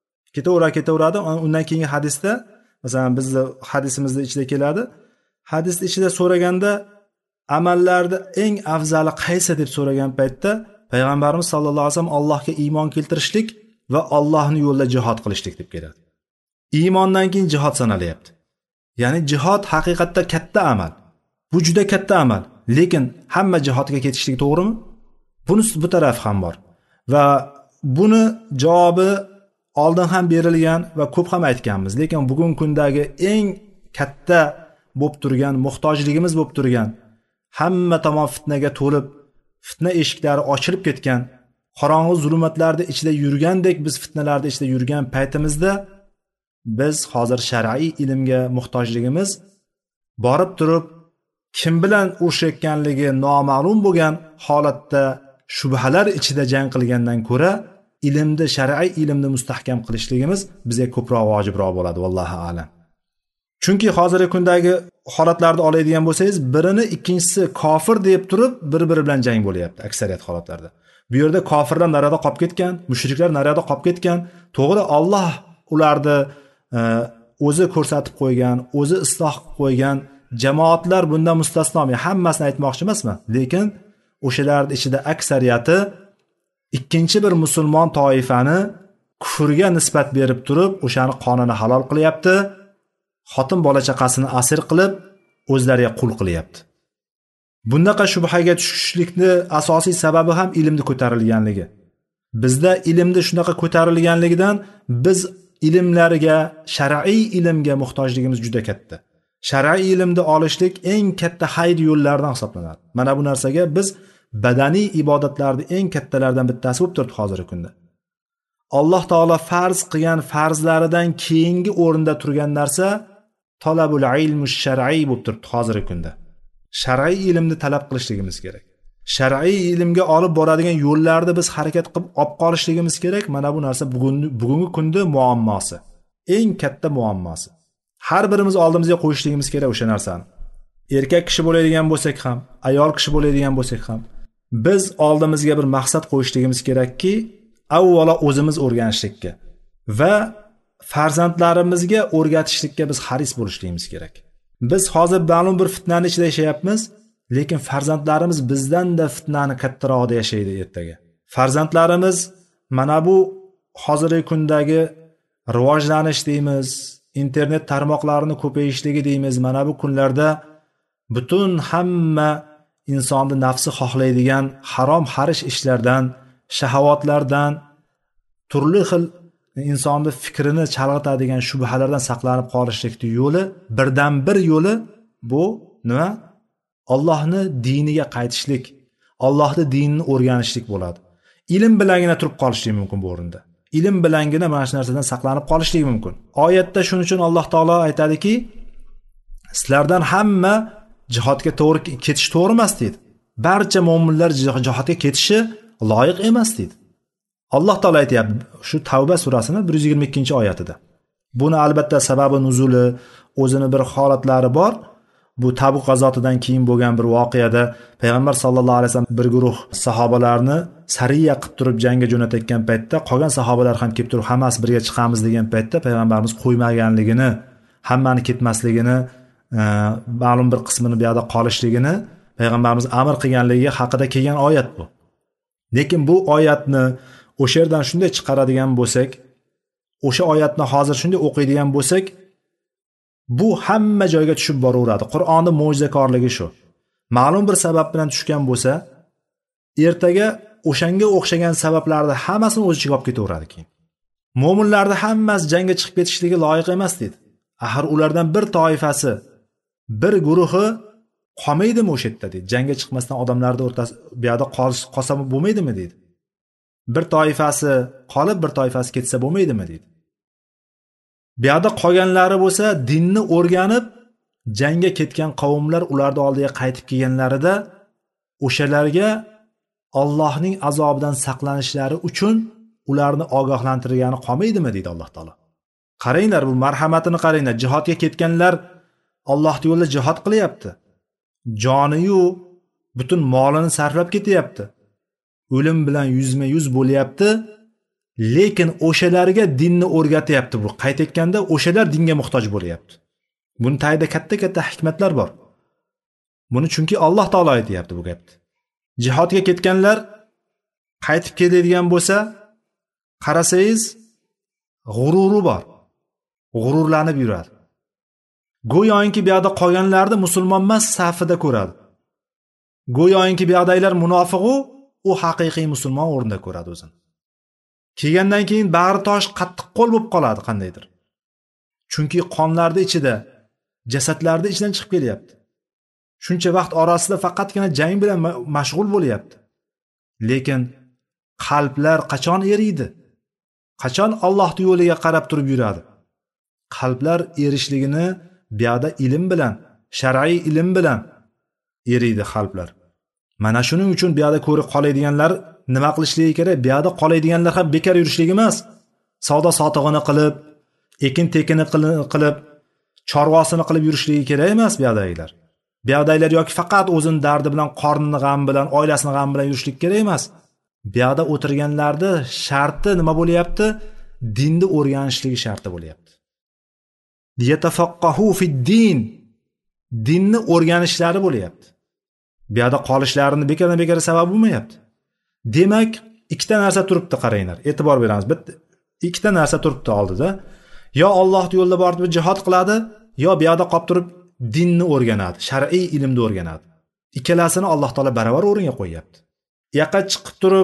Undan keyingi hadisda, masalan, bizning hadisimizning ichida keladi. Hadis ichida so'raganda amallarda eng afzali qaysi deb so'ragan paytda payg'ambarimiz sallallohu alayhi vasallam Allohga iymon keltirishlik va Allohning yo'lida jihad qilishlik deb keladi. Iymondan keyin jihad sanalyapti. Ya'ni jihad haqiqatda katta amal. Bu juda katta amal, lekin hamma jihodga ketishlik to'g'rimi? Bunisi bu taraf ham bor. Va buni javobi oldin ham berilgan va ko'p ham aytganmiz, lekin bugungi kundagi eng katta bo'lib turgan, muhtojligimiz bo'lib turgan, hamma tomon fitnaga to'lib, fitna eshiklari ochilib ketgan, qorong'u zulmatlarda ichida yurgandek biz fitnalarda ichida yurgan paytimizda biz hozir shar'iy ilmga muhtojligimiz borib turib kim bilan urushayotganligi noma'lum bo'lgan holatda shubhalar ichida jang qilgandan ko'ra ilmni, shar'iy ilmni mustahkam qilishligimiz bizga ko'proq vojibroq bo'ladi, vallohu a'lam. Chunki hozirgi kundagi holatlarni oladigan bo'lsangiz, birini ikkinchisi kofir deb turib bir-biri bilan jang bo'lyapti aksariyat holatlarda. Bu yerda kofirlar narada qolib ketgan, mushriklar narada qolib ketgan. To'g'ri, Alloh ularni o'zi ko'rsatib qo'ygan, o'zi isloh qilib qo'ygan jamoatlar bundan mustasno. Men hammasini aytmoqchi emasman, lekin o'shalarning ichida aksariyati ikkinchi bir musulmon toifani kufrga nisbat berib turib, o'shani qonini halol qilyapti. Xotin bola chaqasini asir qilib, o'zlariga qul qilyapti. Bundaqa shubhaga tushishlikni asosiy sababi ham ilmni ko'tarilganligi. Bizda ilmni shunaqa ko'tarilganligidan biz ilmlarga, shar'iy ilmga muhtojligimiz juda katta. Shar'iy ilmni olishlik eng katta hayr yo'llardan hisoblanadi. Mana bu narsaga biz badaniy ibodatlarning eng kattalaridan bittasi bo'lib turibdi hozirgi kunda. Alloh taolo farz qilgan farzlaridan keyingi o'rinda turgan narsa talabul ilmi shar'iy bo'lib turibdi hozirgi kunda. Shar'iy ilmni talab qilishligimiz kerak. Shar'iy ilmga olib boradigan yo'llarni biz harakat qilib olib qolishligimiz kerak. Mana bu narsa bugungi kunda muammosi. Eng katta muammosi. Har birimiz oldimizga qo'yishligimiz kerak o'sha narsani. Erkak kishi bo'ladigan bo'lsak ham, ayol kishi bo'ladigan bo'lsak ham, biz oldimizga bir maqsad qo'yishligimiz kerakki, avvalo o'zimiz o'rganishlikka va farzandlarimizga o'rgatishlikka biz haris bo'lishligimiz kerak. Biz hozir ma'lum bir fitnani ichida yashayapmiz, lekin farzandlarimiz bizdan-da fitnani kattaroqda yashaydi ertaga. Farzandlarimiz mana bu hozirgi kundagi rivojlanish deymiz, internet tarmoqlarini ko'payishligi deymiz. Mana bu kunlarda butun hamma insonni nafsi xohlaydigan harom xarish ishlardan, shahovatlardan, turli xil insonni fikrini chalg'itadigan shubhalardan saqlanib qolishlikning yo'li, birdan bir yo'li bu nima? Allohni diniga qaytishlik, Allohning dinini o'rganishlik bo'ladi. Ilm bilangina turib qolishlik mumkin bu o'rinda. Ilm bilangina mana shu narsadan saqlanib qolishlik mumkin. Oyatda shuning uchun Alloh taolo aytadiki, sizlardan hamma jihodga to'g'ri ketish to'g'ri emas deydi. Barcha mu'minlar jihodga ketishi loyiq emas deydi. Alloh taolo aytayapti shu Tavba surasining 122-oyatida. Buni albatta sababi nuzuli, o'zini bir holatlari bor. Bu Tabuk g'azotidan keyin bo'lgan bir voqeada payg'ambar sallallohu alayhi vasallam bir guruh sahobalarni sariya qilib turib jangga jo'natayotgan paytda qolgan sahobalar ham kelib turib hammasi birga chiqamiz degan paytda payg'ambarimiz qo'ymaganligini, hammani ketmasligini, ma'lum bir qismini bu yerda qolishligini payg'ambarimiz amr qilganligi haqida kelgan oyat bu. Lekin bu oyatni o'sha yerdan shunday chiqaradigan bo'lsak, o'sha oyatni hozir shunday o'qiydigan bo'lsak, bu hamma joyga tushib boraveradi. Qur'onning mo'jizakorligi shu. Ma'lum bir sabab bilan tushgan bo'lsa, ertaga o'shanga o'xshagan sabablarni hammasini o'z ichiga olib ketaveradi keyin. Mo'minlarning hammasi jangga chiqib ketishligi loyiq emas dedi. Axir ulardan bir toifasi, bir guruhi qolmaydimi o'sha yerda dedi. Jangga chiqmasdan odamlarning o'rtasida bu yerda qolsa bo'lmaydimi dedi. Bir toifasi qolib, bir toifasi ketsa bo'lmaydimi dedi. Bu yerda qolganlari bo'lsa, dinni o'rganib, jangga ketgan qavmlar ularning oldiga qaytib kelganlarida o'shalarga Allohning azobidan saqlanishlari uchun ularni ogohlantirgani qolmaydimi deydi Alloh taolo. Qaranglar, bu marhamatini qaranglar. Jihodga ketganlar Allohning yo'lida jihod qilyapti. Joniyu butun molini sarflab ketyapti. O'lim bilan yuzma-yuz bo'lyapti. Lekin o'shalarga dinni o'rgatyapti bu. Qaytayotganda o'shalar dinga muhtoj bo'lyapti. Buni tagida katta-katta hikmatlar bor. Buni chunki Alloh taolo aytayapti bu gapni. Jihodga ketganlar qaytib keladigan bo'lsa, qarasangiz g'ururi bor. G'ururlanib yuradi. Go'yoki bu yerda qolganlarni musulmon emas safida ko'radi. Go'yoki bu yerdagilar munofiq u haqiqiy musulmon o'rnida ko'radi o'zini. Kelgandan keyin bag'ri tosh qattiq qo'l bo'lib qoladi qandaydir. Chunki qonlarning ichida, jasadlarning ichidan chiqib kelyapti. Shuncha vaqt orasida faqatgina jang bilan mashg'ul bo'lyapti. Lekin qalblar qachon eriydi? Qachon Alloh yo'liga qarab turib yuradi? Qalblar erishligini bu yerda ilm bilan, shar'iy ilm bilan eriydi qalblar. Mana shuning uchun bu yerda ko'rib qoladiganlar nima qilishligi kerak? Bu yerda qoladiganlar ham bekor yurishligi emas. Savdo sotig'ini qilib, ekin-tekini qilib, chorvasini qilib yurishligi kerak emas bu yerdagilar. Bu yerdagilar yoki faqat o'zini dardi bilan, qornini g'am bilan, oilasini g'am bilan yurishlik kerak emas. Bu yerda o'tirganlarda sharti nima bo'lyapti? Dinni o'rganishligi sharti bo'lyapti. Yatafaqahu fid-din. Dinni o'rganishlari bo'lyapti. Bu yerda qolishlarini bekor sabab bo'lmayapti. Demak, ikkita narsa turibdi, qaranglar. E'tibor beramiz. Bitta ikkita narsa turibdi oldida. Yo Alloh yo'lida borib jihad qiladi, yo bu yerda qolib turib dinni o'rganadi, shar'iy ilmni o'rganadi. Ikkalasini Alloh taolo baravar o'ringa qo'yapti. Yoqqa chiqib turib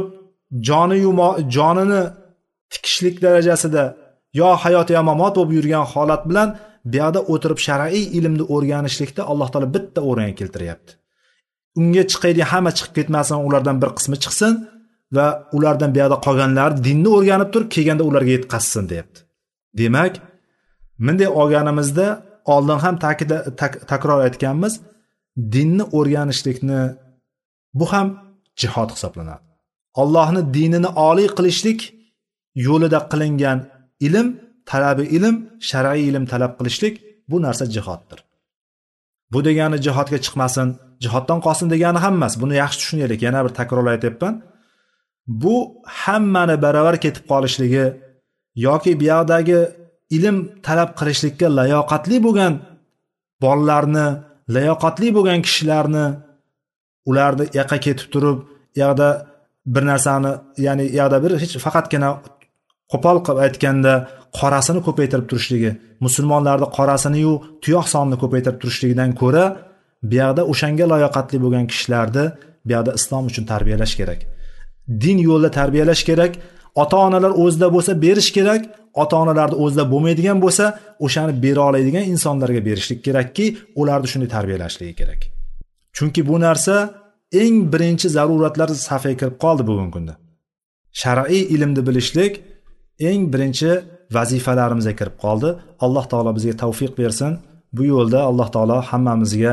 jonini tikishlik darajasida yo hayot yo mamot bo'lib yurgan holat bilan bu yerda o'tirib shar'iy ilmni o'rganishlikda Alloh taolo bitta o'ringa keltiryapti. Unga chiqaydigan hamma chiqib ketmasin, ulardan bir qismi chiqsin va ulardan bu yerda qolganlar dinni o'rganib turib kelganda ularga yetkazsin deyapti. Demak, bunday olganimizda oldin ham takror aytganmiz, dinni o'rganishlikni bu ham jihad hisoblanadi. Allohning dinini oliy qilishlik yo'lida qilingan ilm, talabi ilm, shar'iy ilm talab qilishlik bu narsa jihoddir. Bu degani jihodga chiqmasin, jihoddan qolsin degani ham emas. Buni yaxshi tushunaylik. Yana bir takror aytyapman. Bu hammani baravar ketib qolishligi yoki bu yerdagi ilm talab qilishlikka layoqatli bo'lgan bolalarni, layoqatli bo'lgan kishilarni ularni yoqqa ketib turib, yoqda bir narsani, ya'ni yoqda bir hech faqatgina qo'pol qilib aytganda qorasini ko'paytirib turishligi, musulmonlarning qorasini-yu tuyoq sonini ko'paytirib turishligidan ko'ra, bu yerda o'shanga layoqatli bo'lgan kishilarni bu yerda islom uchun tarbiyalash kerak. Din yo'lida tarbiyalash kerak. Ota-onalar o'zida bo'lsa berish kerak. Ota-onalarda o'zida bo'lmaydigan bo'lsa, o'shani bera oladigan insonlarga berishlik kerakki, ularni shunday tarbiyalashligi kerak. Chunki bu narsa eng birinchi zaruratlar safiga kirib qoldi bugungi kunda. Shar'iy ilmni bilishlik eng birinchi vazifalarimizga kirib qoldi. Alloh taolo bizga tavfiq bersin. Bu yo'lda Alloh taolo hammamizga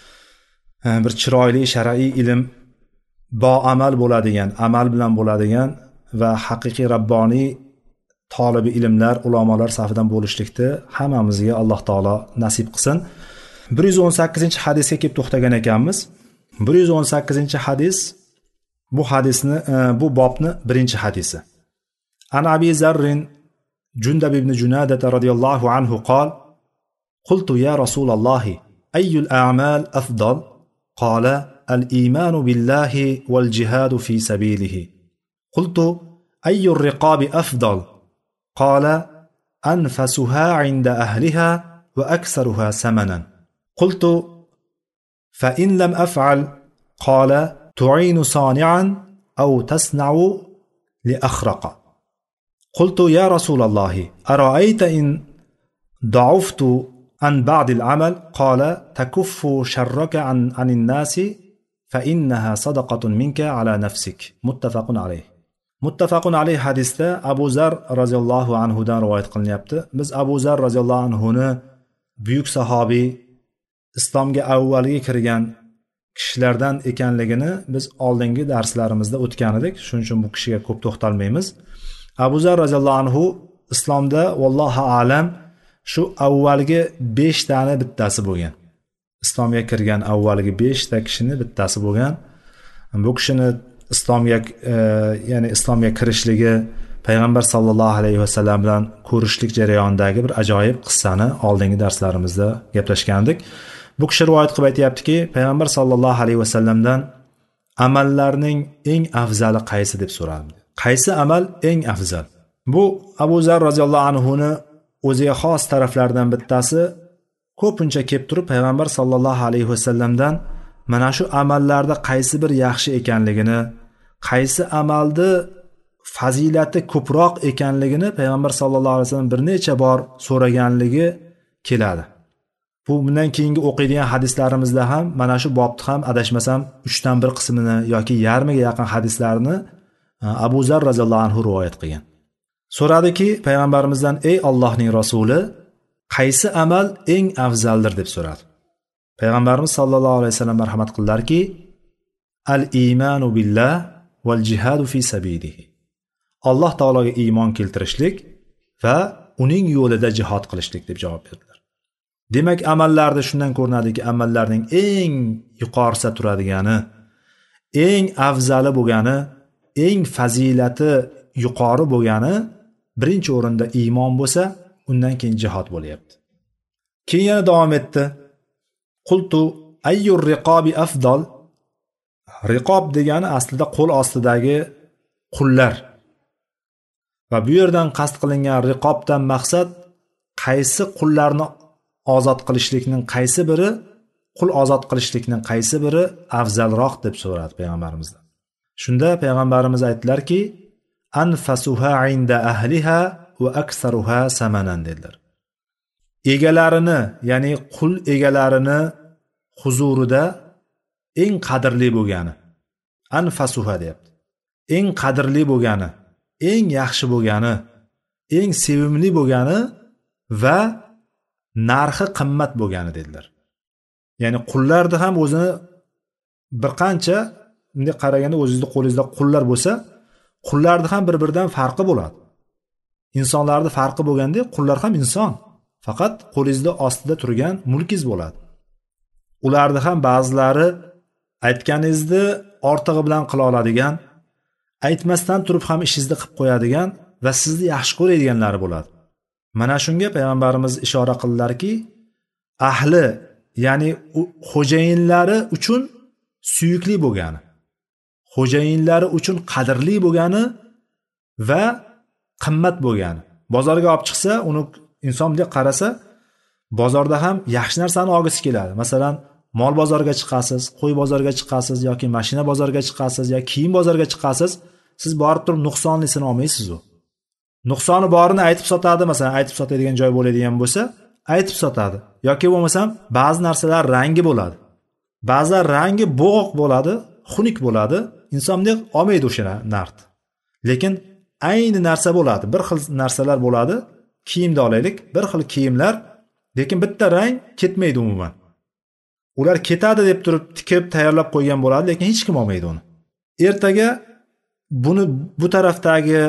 bir chiroyli shar'iy ilm, boamal bo'ladigan, amal bilan bo'ladigan va haqiqiy rabboniy tolibi ilmlar, ulamolar safidan bo'lishlikni hammamizga Alloh taolo nasib qilsin. 118-hadisga kelib to'xtagan ekanmiz. 118-hadis bu hadisni, bu bobni birinchi hadisi. An Abi Zarrin Jundab ibn Junada radhiyallohu anhu qol: "Qultu ya Rasululloh, ayyul a'mal afdal?" Qala: "Al-iman billahi wal jihad fi sabilihi." Qultu: "Ayyur riqabi afdal?" Qala: "Anfasuha 'inda ahliha wa aktharuha samanan." Qultu: "Fa in lam af'al?" Qala: "Tu'inu sani'an aw tasna'u li akhraqa." Qultu: "Ya Rasululloh, ara'ayta in da'uftu an ba'd al-'amal?" Qala: "Takuffu sharraka 'anil nasi fa innaha sadaqatun minka 'ala nafsik." Muttafaqun alayh. Muttafaqun alayh hadisda Abu Zar radhiyallohu anhu dan rivoyat qilinyapti. Biz Abu Zar radhiyallohu anhu ni buyuk sahobiy, islomga avvalgi kirgan kishilardan ekanligini biz oldingi darslarimizda o'tgan edik. Shuning uchun bu kishiga ko'p to'xtalmaymiz. Abu Zar radhiyallohu anhu islomda vallohu alam shu avvalgi 5 tani bittasi bo'lgan. Islomga kirgan avvalgi 5 ta kishini bittasi bo'lgan. Bu kishini islomga kirishligi, payg'ambar sallallohu alayhi vasallam bilan ko'rishlik jarayonidagi bir ajoyib qissani oldingi darslarimizda gaplashgandik. Bu kishi rivoyat qilib aytayaptiki, payg'ambar sallallohu alayhi vasallamdan amallarning eng afzali qaysi deb so'radi. Qaysi amal eng afzal? Bu Abu Zar roziyallohu anhuni o'ziga xos taraflardan bittasi ko'pincha kelib turib payg'ambar sollallohu alayhi vasallamdan mana shu amallarda qaysi bir yaxshi ekanligini, qaysi amalni fazilati ko'proq ekanligini payg'ambar sollallohu alayhi vasallam bir necha bor so'raganligi keladi. Bu bundan keyingi o'qiydigan hadislarimizda ham mana shu bobni ham adashmasam 3dan 1 qismini yoki yarmiga yaqin hadislarni Abu Zar roziyallohu anhu rivoyat qilgan. So'radiki payg'ambarimizdan: "Ey Allohning rasuli, qaysi amal eng afzaldir?" deb so'radi. Payg'ambarimiz sollallohu alayhi vasallam marhamat qildilarki: "Al-iymanu billah val jihadu fi sabilihi." Alloh taologa iymon keltirishlik va uning yo'lida jihad qilishlik deb javob berdilar. Demak, amallarda shundan ko'rinadiki, amallarning eng yuqorisa turadigani, eng afzali bo'lgani, eng fazilati yuqori bo'lgani birinchi o'rinda iymon bo'lsa, undan keyin jihad bo'lyapti. Keyin yana davom etdi. Qultu ayyur riqobi afdal. Riqob degani aslida qo'l ostidagi qullar. Va bu yerdan qasd qilingan riqobdan maqsad qaysi qullarni ozod qilishlikning qaysi biri, qul ozod qilishlikning qaysi biri afzalroq deb so'radi payg'ambarimizdan. Shunda payg'ambarimiz aytdilarki: "Anfasuha inda ahliha va aktsaruha samanan" dedilar. Egalarini, ya'ni qul egalarini huzurida eng qadrli bo'lgani, anfasuha deyapti. Eng qadrli bo'lgani, eng yaxshi bo'lgani, eng sevimli bo'lgani va narxi qimmat bo'lgani dedilar. Ya'ni qullarni ham o'zini bir qancha bunday qaraganda o'zingizning qo'lingizda qullar bo'lsa, qullarni ham bir-biridan farqi bo'ladi. Insonlarning farqi bo'lganda, qullar ham inson. Faqat qo'lingizda ostida turgan mulkingiz bo'ladi. Ularni ham ba'zilari aytganingizni ortig'i bilan qila oladigan, aytmasdan turib ham ishingizni qilib qo'yadigan va sizni yaxshi ko'radiganlari bo'ladi. Mana shunga payg'ambarimiz ishora qildilarki, ahli, ya'ni xo'jayinlari uchun suyukli bo'lgani, xo'jayinlari uchun qadrli bo'lgani va qimmat bo'lgani. Bozorga olib chiqsa, uni inson bunday qarasa, bozorda ham yaxshi narsani olgisi keladi. Masalan, mol bozoriga chiqasiz, qo'y bozoriga chiqasiz yoki mashina bozoriga chiqasiz yoki kiyim bozoriga chiqasiz, siz borib turib nuqsonlisini olmaysiz. U nuqsoni borini aytib sotadi, masalan, aytib sotadigan joy bo'ladigan bo'lsa, aytib sotadi. Yoki bo'lmasam, ba'zi narsalar rangi bo'ladi. Ba'zilar rangi bo'g'iq bo'ladi, xunuk bo'ladi. Inson bunday olmaydi o'sha narxni. Lekin ayni narsa bo'ladi, bir xil narsalar bo'ladi. Kiyimda olaylik, bir xil kiyimlar, lekin bitta rang ketmaydi umuman. Ular ketadi deb turib tikib tayyorlab qo'ygan bo'ladi, lekin hech kim olmaydi uni. Ertaga buni bu tarafdagi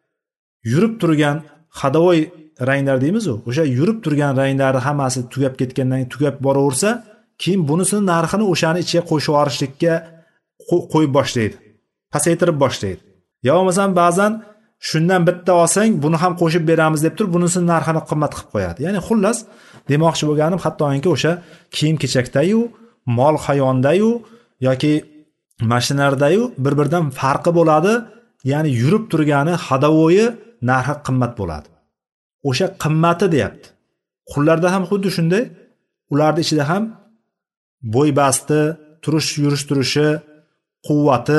yurib turgan xadovoy ranglar deymiz, o'sha yurib turgan ranglari hammasi tugab ketgandan keyin tugab boraversa, keyin bunisini narxini o'shani ichiga qo'shib yuborishlikka qo'yib boshlaydi. Pasaytirib boshlaydi. Yo bo'lmasam ba'zan shundan bitta olsang, buni ham qo'shib beramiz deb turib, bunisini narxini qimmat qilib qo'yadi. Ya'ni xullas, demoqchi bo'lganim, hattoki o'sha kiyim-kechakda-yu, mol hayvonda-yu yoki mashinalarda-yu bir-biridan farqi bo'ladi. Ya'ni yurib turgani, hadavoyi narxi qimmat bo'ladi. O'sha qimmati deyapti. Qullarda ham xuddi shunday, ularning ichida ham bo'y-basti, yurish turishi, quvvati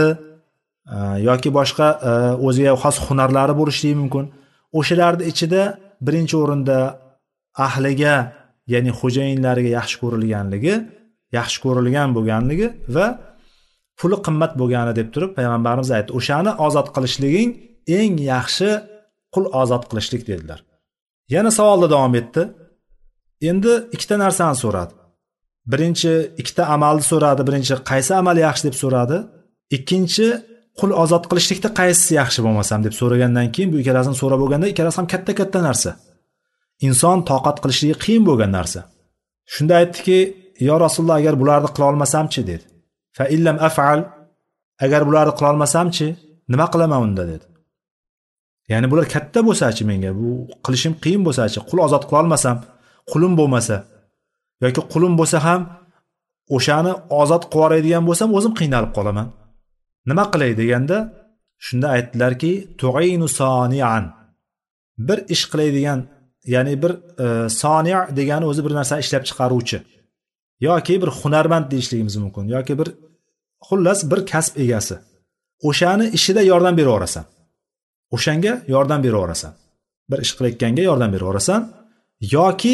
yoki boshqa o'ziga xos hunarlari bo'lishi mumkin. O'shalarning ichida birinchi o'rinda ahliga, ya'ni xo'jayinlariga yaxshi ko'rilganligi, yaxshi ko'rilgan bo'lganligi va puli qimmat bo'lgani deb turib payg'ambarimiz aytdi. O'shani ozod qilishliging eng yaxshi qul ozod qilishlik dedilar. Yana savolda davom etdi. Endi ikkita narsani so'radi. Birinchi ikkita amalni so'radi. Birinchi qaysi amal yaxshi deb so'radi. Ikkinchi qul ozod qilishlikda qaysisi yaxshi bo'lmasam deb so'ragandan keyin bu ikkalasini so'rab bo'lganda ikkalasi ham katta-katta narsa. Inson toqat qilishligi qiyin bo'lgan narsa. Shunda aytdiki, "Yo Rasululloh, agar bularni qila olmasam-chi?" dedi. "Fa illam af'al", agar bularni qila olmasam-chi, nima qilaman unda dedi. Ya'ni bular katta bo'lsa-chi menga, bu qilishim qiyin bo'lsa-chi, qul ozod qila olmasam, qulim bo'lmasa yoki qulim bo'lsa ham o'shani ozod qilib yuboradigan bo'lsam, o'zim qiynalib qolaman. nima qilay deganda shunda aytdilarki tu'inu sonian, bir ish qilaydigan, ya'ni bir soni' degani o'zi bir narsani ishlab chiqaruvchi yoki bir hunarmand deyishligimiz mumkin, yoki bir xullas bir kasb egasi. O'shani ishida yordam beraverasan, o'shanga yordam beraverasan, bir ish qilayotganga yordam beraverasan, yoki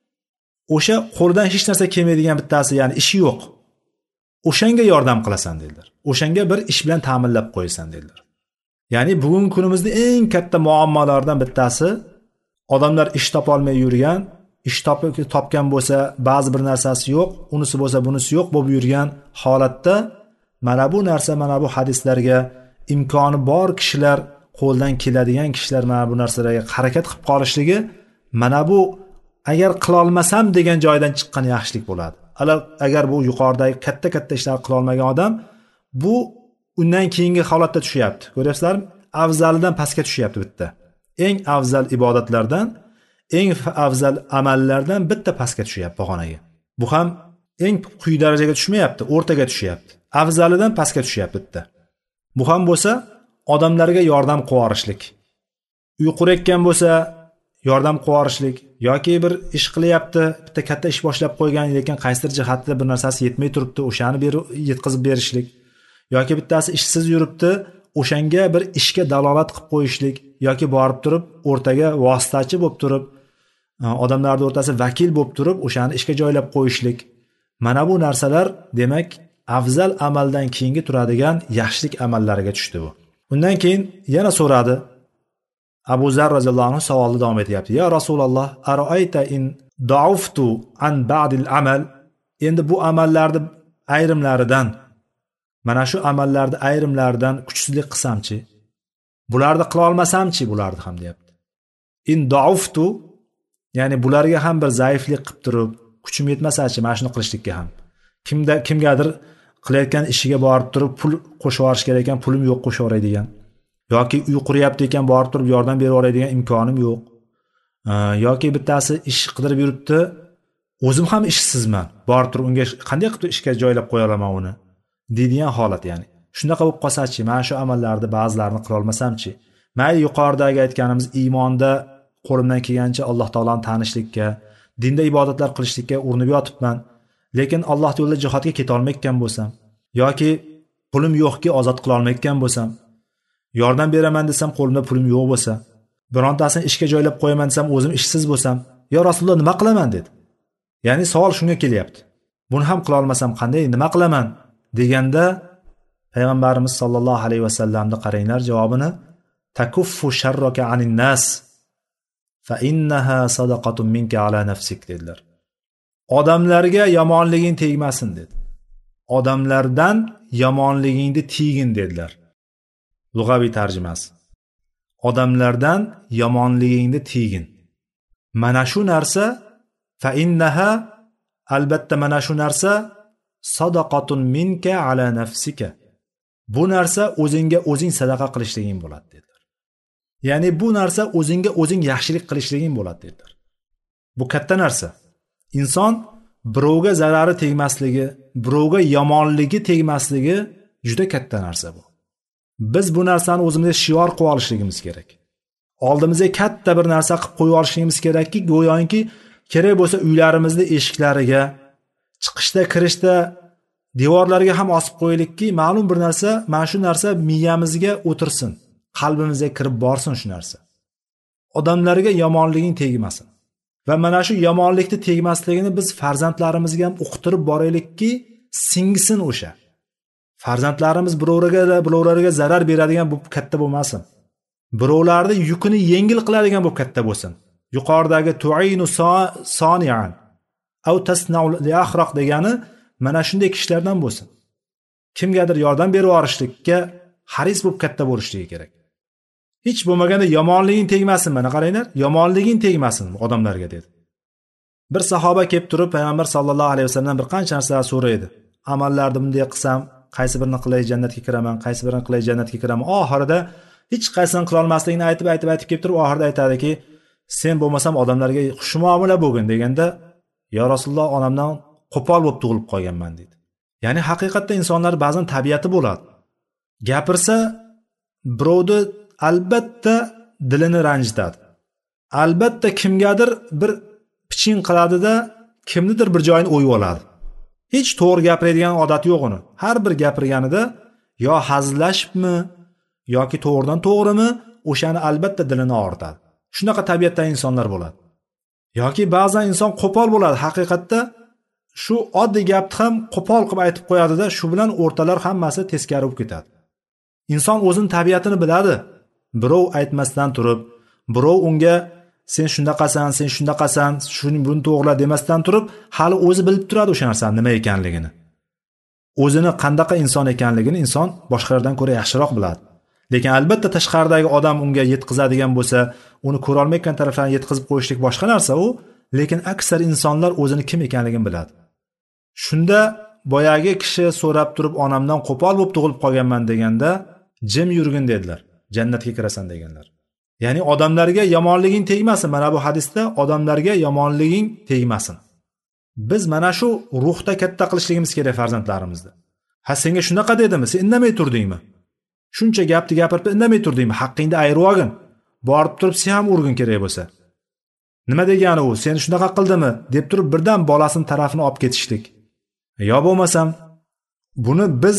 o'sha qo'lidan hech narsa kelmaydigan bittasi, ya'ni ishi yo'q, o'shanga yordam qilasan dedilar. O'shanga bir ish bilan ta'minlab qo'yasan dedilar. Ya'ni bugungi kunimizda eng katta muammolardan bittasi, odamlar ish topolmay yurgan, ish topgan bo'lsa ba'zi bir narsasi yo'q, unisi bo'lsa bunisi yo'q bo'lib yurgan holatda mana bu narsa, mana bu hadislarga imkoni bor kishilar, qo'ldan keladigan kishilar mana bu narsalarga harakat qilib qolishligi, mana bu agar qila olmasam degan joydan chiqqan yaxshilik bo'ladi. Agar bu yuqoridagi katta ishlar qila olmagan odam, bu undan keyingi holatda tushyapti. Ko'ryapsizlarmi? Afzalidan pastga tushyapti bitta. Eng afzal ibodatlardan, eng afzal amallardan bitta pastga tushyapti pog'onaga. Bu ham eng quyi darajaga tushmayapti, o'rtaga tushyapti. Afzalidan pastga tushyapti bitta. Bu ham bo'lsa odamlarga yordam qivorishlik. Uy qurayotgan bo'lsa yordam qivorishlik, yoki bir ish qilyapti, bitta katta ish boshlab qo'ygan, lekin qaysidir jihatda bir narsasi yetmay turibdi, o'shani yetkazib berishlik, yoki bittasi ishsiz yuribdi, o'shanga bir ishga dalolat qilib qo'yishlik, yoki borib turib o'rtaga vositachi bo'lib turib, odamlarning o'rtasida vakil bo'lib turib, o'shani ishga joylab qo'yishlik. Mana bu narsalar demak afzal amaldan keyingi turadigan yaxshilik amallariga tushdi bu. Undan keyin yana so'radi. Abu Zar roziyallohu anhu savolni davom etyapti. Ya Rasululloh, aroayta in da'uftu an ba'dil amal. Endi bu amallarni ayrimlaridan, mana shu amallarni ayrimlaridan kuchsizlik qilsamchi, bularni qila olmasamchi, bularni ham deyapti. In da'uftu, ya'ni bularga ham bir zaiflik qilib turib, kuchim yetmasachi mana shuni qilishlikka ham. Kimgadir qilayotgan ishiga borib turib pul qo'shib yuborish kerak ekan, pulim yo'q qo'shib yuboradigan, yoki uy quryapti ekan borib turib yordam berib yuboradigan imkonim yo'q, yoki bittasi ish qidirib yuribdi, o'zim ham ishsizman, borib turib unga qanday qilib ishga joylab qo'ya olaman uni deydigan holat. Ya'ni shunaqa bo'lib qolsachi, mana shu amallarni ba'zilarini qila olmasamchi, mayli yuqoridagi aytganimiz iymonda qo'limdan kelgancha Alloh taoloni tanishlikka, dinda ibodatlar qilishlikka urinib yotibman, lekin Alloh yo'lida jihodga keta olmayotgan bo'lsam, yoki pulim yo'qki ozod qila olmayotgan bo'lsam, yordam beraman desam qo'limda pulim yo'q bo'lsa, birontasini ishga joylab qo'yaman desam o'zim ishsiz bo'lsam, yo Rasululloh nima qilaman dedi. Ya'ni savol shunga kelyapti. Buni ham qila olmasam qanday, nima qilaman deganda payg'ambarimiz sollallohu alayhi vasallamni qaranglar javobini, takuffu sharraka anin nas fa innaha sadaqatun minka ala nafsik dedilar. Odamlarga yomonliging tegmasin dedi. Odamlardan yomonligingni tiygin dedilar. Lug'aviy tarjimasi. Odamlardan yomonligingni tiygin. Mana shu narsa fa innaha, albatta mana shu narsa sadaqatun minka ala nafsika. Bu narsa o'zingga o'zing sadaqa qilishliging bo'ladi dedilar. Ya'ni bu narsa o'zingga o'zing yaxshilik qilishliging bo'ladi dedilar. Bu katta narsa. Inson birovga zarari tegmasligi, birovga yomonligi tegmasligi juda katta narsa bu. Biz bu narsani o'zimizga shior qilib olishligimiz kerak. Oldimizga katta bir narsa qilib qo'yib olishligimiz kerakki, go'yoki kerak bo'lsa uylarimizning eshiklariga, chiqishda, kirishda devorlarga ham osib qo'yaylikki, ma'lum bir narsa, mana shu narsa miyamizga o'tirsin, qalbimizga kirib borsin shu narsa. Odamlarga yomonliging tegmasin. Va mana shu yomonlikni tegmasligini biz farzandlarimizga ham o'qitirib boraylikki, singsin o'sha. Farzandlarimiz birovlarga zarar beradigan bu katta bo'lmasin. Birovlarning yukini yengil qiladigan bu katta bo'lsin. Yuqoridagi tu'inu sonian aw tasna'u li akhraq degani mana shunday kishilardan bo'lsin. Kimgadir yordam berib yorishlikka haris bo'lib katta bo'lishligi kerak. Hech bo'lmaganda yomonliging tegmasin, mana qaranglar, yomonliging tegmasin odamlarga dedi. Bir sahoba kelib turib payg'ambar sollallohu alayhi vasallamdan bir qancha narsalar so'raydi. Amallarni bunday qilsam, qaysi birini qilay jannatga kiraman, qaysi birini qilay jannatga kiraman. Oxirida hech qaysini qila olmasligini aytib kelib turib oxirida aytadiki, sen bo'lmasam odamlarga xushmuomala bo'lgin deganda, yo Rasululloh, onamdan qo'pol bo'lib tug'ilib qolganman dedi. Ya'ni haqiqatda insonlar ba'zan tabiati bo'ladi. gapirsa birovni albatta dilini ranjitadi. Albatta kimgadir bir piching qiladida, kimnidir bir joyini o'yib oladi. Hech to'g'ri gapiradigan odati yo'q uni. Har bir gapirganida yo hazillashibmi yoki to'g'ridan to'g'rimi, o'shani albatta dilini og'ritadi. Shunaqa tabiatdagi insonlar bo'ladi. Yoki ba'zan inson qo'pol bo'ladi, haqiqatda shu oddiy gapni ham qo'pol qilib aytib qo'yadi-da, shu bilan o'rtalar hammasi teskari bo'lib ketadi. Inson o'zining tabiatini biladi. Birov aytmasdan turib, birov unga sen shundaqasan, sen shundaqasan, shuni buni to'g'rila demasdan turib, hali o'zi bilib turadi o'sha narsaning nima ekanligini. O'zini qandaqa inson ekanligini inson boshqalardan ko'ra yaxshiroq biladi. Lekin albatta tashqaridagi odam unga yetkazadigan bo'lsa, uni ko'ra olmayotgan taraflarni yetkazib qo'yishlik boshqa narsa u, lekin aksar insonlar o'zini kim ekanligini biladi. Shunda boyagi kishi so'rab turib, onamdan qo'pol bo'lib tug'ilib qolganman deganda, jim yurgin dedilar. Jannatga kirasan deganlar. Ya'ni odamlarga yomonliging tegmasin. Mana bu hadisda odamlarga yomonliging tegmasin. Biz mana shu ruhda katta qilishligimiz kerak farzandlarimizni. Ha senga shunaqa dedimi? Sen indamay turdingmi? Shuncha gapni gapirib indamay turdingmi? Haqqingni ayirib olgin. Borib turib sen ham urgin kerak bo'lsa. Nima degani u? Seni shunaqa qildimi deb turib birdan bolasini tarafini olib ketishlik. Yo bo'lmasam buni biz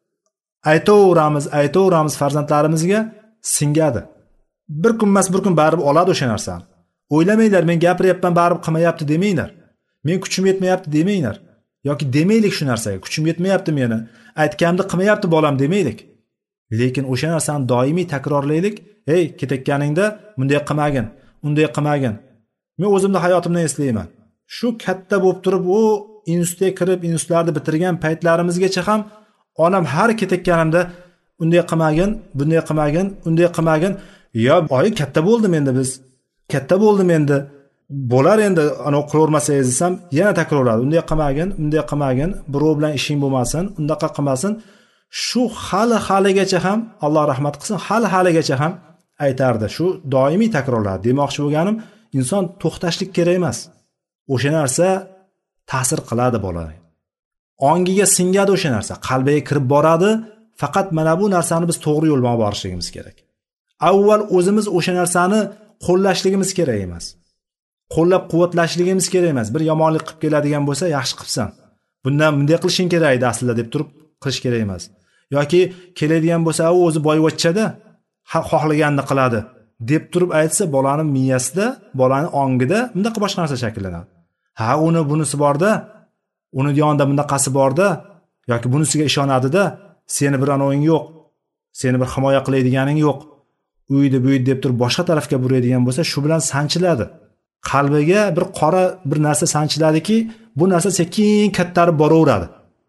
aytaveramiz farzandlarimizga singadi. Bir kun emas bir kun barib oladi o'sha narsani. O'ylamanglar, men gapiryapman barib qilmayapti demanglar. Men kuchim yetmayapti demanglar. Yoki demaylik shu narsaga, kuchim yetmayapti meni, aytganimni qilmayapti bolam demaylik. Lekin o'sha narsani doimiy takrorlaylik. Ey, ketayotganingda bunday qilmagin, unday qilmagin. Men o'zimni hayotimdan eslayman. Shu katta bo'lib turib, u institutga kirib, institutlarni bitirgan paytlarimizgacha ham onam har ketayotganimda unday qilmagin, bunday qilmagin, unday qilmagin. Yo, oyi katta bo'ldim endi biz. Katta bo'ldim endi. Bo'lar endi, ana qilavermasangiz desam, yana takrorladi. Unday qilmagin, bunday qilmagin, birov bilan ishing bo'lmasin, undaqa qilmasin. Shu hali-haligacha ham Alloh rahmat qilsin, hali-haligacha ham aytardi. Shu doimiy takrorladi. Demoqchi bo'lganim, inson to'xtashlik kerak emas. O'sha narsa ta'sir qiladi bolaga. Ongiga singadi o'sha narsa, qalbiga kirib boradi. Faqat mana bu narsani biz to'g'ri yo'l bilan borishligimiz kerak. Avval o'zimiz o'sha narsani qo'llashligimiz kerak emas. Qo'llab-quvvatlashligimiz kerak emas. Bir yomonlik qilib keladigan bo'lsa, yaxshi qilsan. Bundan bunday qilishing kerak edi aslida deb turib qilish kerak emas. Yoki keladigan bo'lsa, u o'zi boyvachchada xohlaganini qiladi deb turib aytsa, bolaning miyasida, bolaning ongida bundaqa boshqa narsa shakllanadi. Ha, uni bunisi borda, uni yonida bundaqasi borda, yoki bunisiga ishonadi-da, seni bir anoying yo'q, seni bir himoya qiladiganing yo'q. Uydi buydi deb turib boshqa tarafga buradigan bo'lsa, shu bilan sanchiladi. Qalbiga bir qora bir narsa sanchiladiki, bu narsa sekin kattarib boraveradi.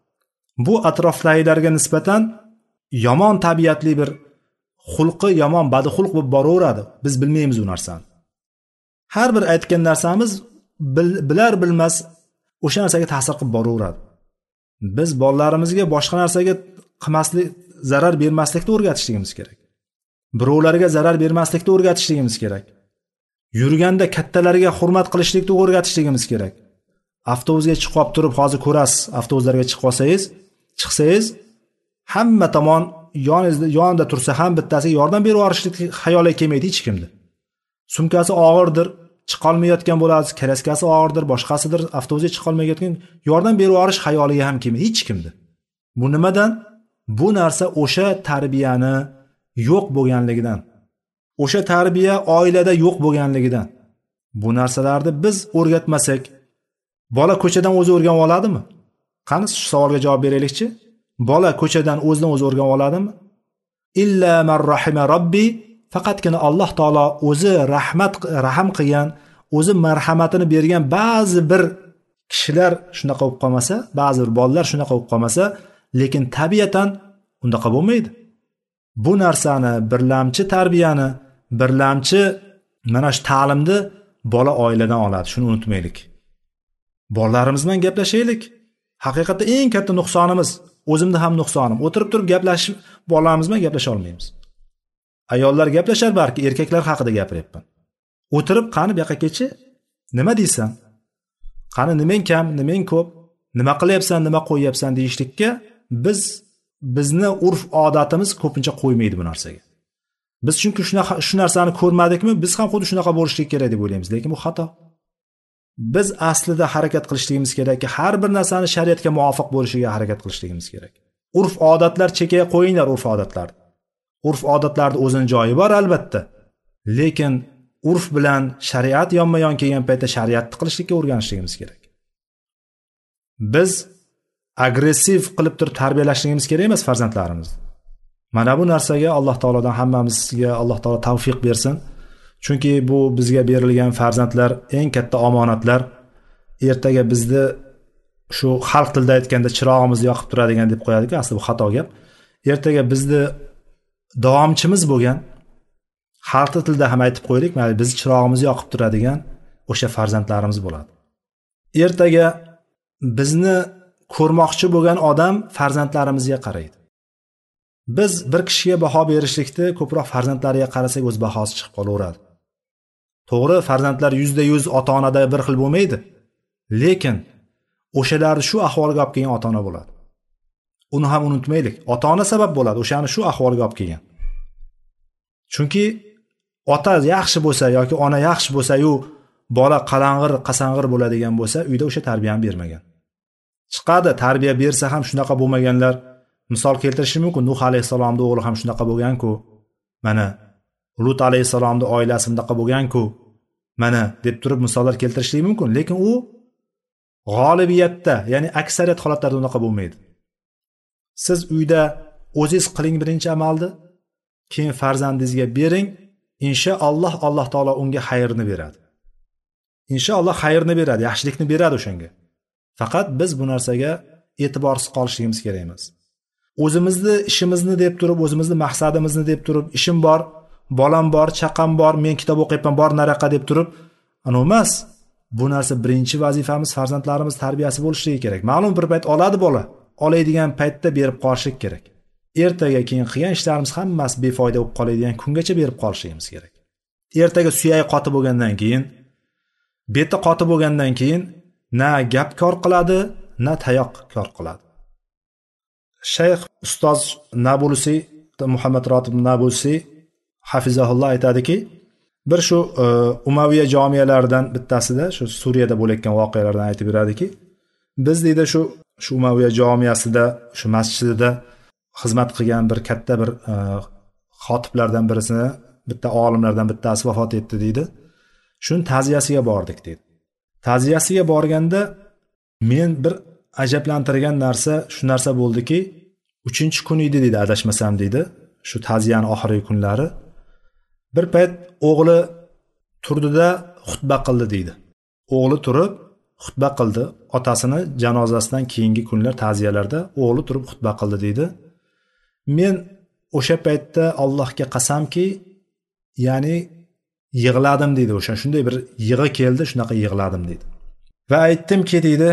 Bu atrofdagilarga nisbatan yomon tabiatli bir xulqi, yomon badxulq bo'lib boraveradi. Biz bilmaymiz u narsani. Har bir aytgan narsamiz bilar bilmas o'sha narsaga ta'sir qilib boraveradi. Biz bolalarimizga boshqa narsaga qilmaslik, zarar bermaslikni o'rgatishligimiz kerak. Birovlarga zarar bermaslikni o'rgatishligimiz kerak. Yurganda kattalarga hurmat qilishlikni o'rgatishligimiz kerak. Avtobusga chiqib qolib turib, hozir ko'rasiz, avtobuslarga chiqsangiz, hamma tomon yonida tursa ham bittasiga yordam berib yuborishlik xayoliga kelmaydi hech kimda. Sumkasi og'irdir, chiqa olmayotgan bo'lasiz, kraskasi og'irdir, boshqasidir, avtobusga chiqa olmayotgan, yordam berib yuborish xayoliga ham kelmaydi hech kimda. Bu nimadan? Bu narsa o'sha tarbiyani yo'q bo'lganligidan. O'sha tarbiya oilada yo'q bo'lganligidan. Bu narsalarni biz o'rgatmasak, bola ko'chadan o'zi o'rganib oladimi? Qani shu savolga javob beraylikchi. Bola ko'chadan o'zidan o'zi o'rganib oladimi? Illa man rahima robbi, faqatgina Alloh taolo o'zi rahim qilgan, o'zi marhamatini bergan ba'zi bir kishilar shunaqa bo'lib qolmasa, ba'zi bir bolalar shunaqa bo'lib qolmasa, lekin tabiatan undaqa bo'lmaydi. Bu narsani, birlamchi tarbiyani, birlamchi mana shu ta'limni bola oiladan oladi. Shuni unutmaylik. Bolalarimiz bilan gaplashaylik. Haqiqatda eng katta nuqsonimiz, o'zimda ham nuqsonim. O'tirib turib gaplashib, bolalarimiz bilan gaplasha olmaymiz. Ayollar gaplashar balki, erkaklar haqida gapiryapman. O'tirib, qani bu yoqqa kelchi? Nima deysan? Qani nimang kam, nimang ko'p? Nima qilyapsan, nima qo'yyapsan deyishlikka biz bizni urf odatimiz ko'pincha qo'ymaydi bu narsaga. Biz chunki shu narsani ko'rmadikmi, biz ham xuddi shunaqa bo'lishligi kerak deb o'ylaymiz, lekin bu xato. Biz aslida harakat qilishligimiz kerakki, har bir narsani shariatga muvofiq bo'lishiga harakat qilishligimiz kerak. Urf odatlar chekaya qo'yinglar, urf odatlar. Urf odatlarda o'zining joyi bor albatta. Lekin urf bilan shariat yonma-yon kelgan paytda shariatni qilishlikka o'rganishligimiz kerak. Biz agressiv qilib turib tarbiyalashligimiz kerak emas farzandlarimizni. Mana bu narsaga Alloh taolodan hammamizga Alloh taolo tavfiq bersin. Chunki bu bizga berilgan farzandlar eng katta omonatlar. Ertaga bizni shu xalq tilida aytganda chirog'imizni yoqib turadigan deb qo'yadi-ku, aslida bu xato gap. Ertaga bizni davomchimiz bo'lgan, xalq tilida ham aytib qo'ydik, mayli biz chirog'imizni yoqib turadigan o'sha farzandlarimiz bo'ladi. Ertaga bizni ko'rmoqchi bo'lgan odam farzandlarimizga qaraydi. Biz bir kishiga baho berishlikda ko'proq farzandlariga qarasak o'z bahosi chiqib qolaveradi. To'g'ri, farzandlar 100% ota-onada bir xil bo'lmaydi. Lekin o'shalarni shu ahvolga olib kelgan ota-ona bo'ladi. Uni ham unutmaylik. Ota-ona sabab bo'ladi, o'shani shu ahvolga olib kelgan. Chunki ota yaxshi bo'lsa yoki ona yaxshi bo'lsa-yu, bola qalang'ir, qasang'ir bo'ladigan bo'lsa, uyda o'sha tarbiyani bermagan. Chiqadi, tarbiya bersa ham shunaqa bo'lmaganlar. Misol keltirishim mumkin. Nuh alayhisalomning o'g'li ham shunaqa bo'lgan-ku. Mana Lut alayhisalomning oilasi bundaqa bo'lgan-ku. Mana deb turib misollar keltirishlik mumkin, lekin u g'olibiyatda, ya'ni aksariyat holatlarda unaqa bo'lmaydi. Siz uyda o'zingiz qiling birinchi amalni, keyin farzandingizga bering, inshaalloh Alloh taolo unga xayrni beradi. Inshaalloh xayrni beradi, yaxshilikni beradi o'shanga. Faqat biz bu narsaga e'tiborsiz qolishligimiz kerak emas. O'zimizni ishimizni deb turib, o'zimizni maqsadimizni deb turib, ishim bor, bolam bor, chaqam bor, men kitob o'qiyapman, bor naraqa deb turib, ana emas. Bu narsa birinchi vazifamiz farzandlarimiz tarbiyasi bo'lishligi kerak. Ma'lum bir payt oladi bola, oladigan paytda berib qolishlik kerak. Ertaga keyin qilgan ishlarimiz hammasi befoyda bo'lib qoladigan kungacha berib qolishligimiz kerak. Ertaga suyagi qotib bo'lgandan keyin, beti qotib bo'lgandan keyin na gap kor qiladi, na tayoq kor qiladi. Shayx ustoz Nabulusi, Muhammad Rotib Nabulusi hafizahulloh aytadiki, bir shu Umayya jomiyalaridan bittasida, shu Suriyada bo'layotgan voqealardan aytib beradiki, biz deydi shu Umayya jomiyasida, shu masjidida xizmat qilgan bir katta bir xotiblardan birisini, bitta olimlardan bittasi vafot etdi deydi. Shuni ta'ziyasiga bordik deydi. Ta'ziyasiga borganda men bir ajablantirgan narsa shu narsa bo'ldiki, 3-kun edi deydi, adashmasam deydi, shu ta'ziyaning oxirgi kunlari. Bir payt o'g'li turdida xutba qildi deydi. O'g'li turib xutba qildi, otasini janozasidan keyingi kunlar ta'ziyalarda o'g'li turib xutba qildi deydi. Men o'sha paytda Allohga qasamki, ya'ni yig'ladim deydi, o'sha shunday bir yig'i keldi, shunaqa yig'ladim deydi. Va aytdimki deydi,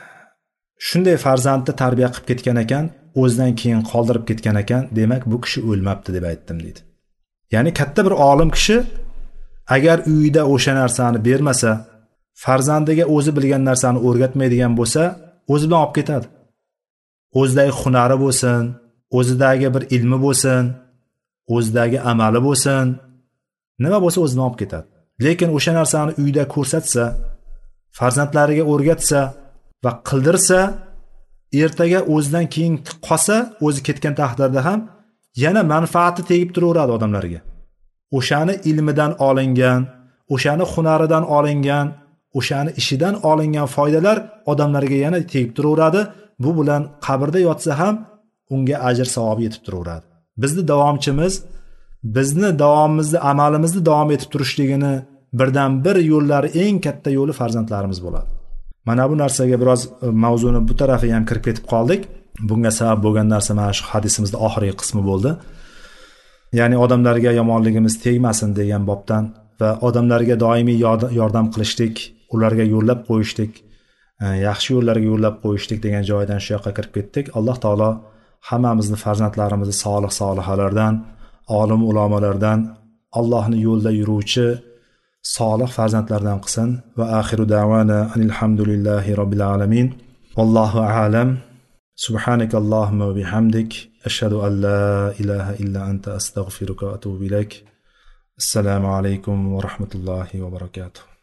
shunday farzandni tarbiya qilib ketgan ekan, o'zidan keyin qoldirib ketgan ekan, demak bu kishi o'lmabdi deb aytdim deydi. Ya'ni katta bir olim kishi agar uyida o'sha narsani bermasa, farzandiga o'zi bilgan narsani o'rgatmaydigan bo'lsa, o'zi bilan olib ketadi. O'zidagi hunari bo'lsin, o'zidagi bir ilmi bo'lsin, o'zidagi amali bo'lsin, nima bo'lsa o'zidan olib ketadi. Lekin o'sha narsani uyda ko'rsatsa, farzandlariga o'rgatsa va qildirsa, ertaga o'zidan keyin qolsa, o'zi ketgan taqdirda ham yana manfaati tegib turaveradi odamlarga. O'shani ilmidan olingan, o'shani hunaridan olingan, o'shani ishidan olingan foydalar odamlarga yana tegib turaveradi. Bu bilan qabrda yotsa ham unga ajr savobi yetib turaveradi. Bizni davomchimiz, bizni davomimizni, amalimizni davom etib turishligini birdan bir yo'llari, eng katta yo'li farzandlarimiz bo'ladi. Mana bu narsaga biroz mavzuni bu tarafiga ham kirib ketib qoldik. Bunga sabab bo'lgan narsa mana shu hadisimizning oxirgi qismi bo'ldi. Ya'ni odamlarga yomonligimiz tegmasin degan bobdan va odamlarga doimiy yordam qilishlik, ularga yo'llab qo'yishlik, yaxshi yo'llarga yo'llab qo'yishlik degan joydan shu yoqqa kirib ketdik. Alloh taolo hammamizni farzandlarimizni solih solihalardan, olim ulamolardan, Allohning yo'lida yuruvchi solih farzandlardan qilsin. Va axiru da'vana alhamdulillahi robbil alamin. Vallohu a'lam. سبحانك اللهم وبحمدك أشهد أن لا إله إلا أنت أستغفرك وأتوب إليك. السلام عليكم ورحمة الله وبركاته.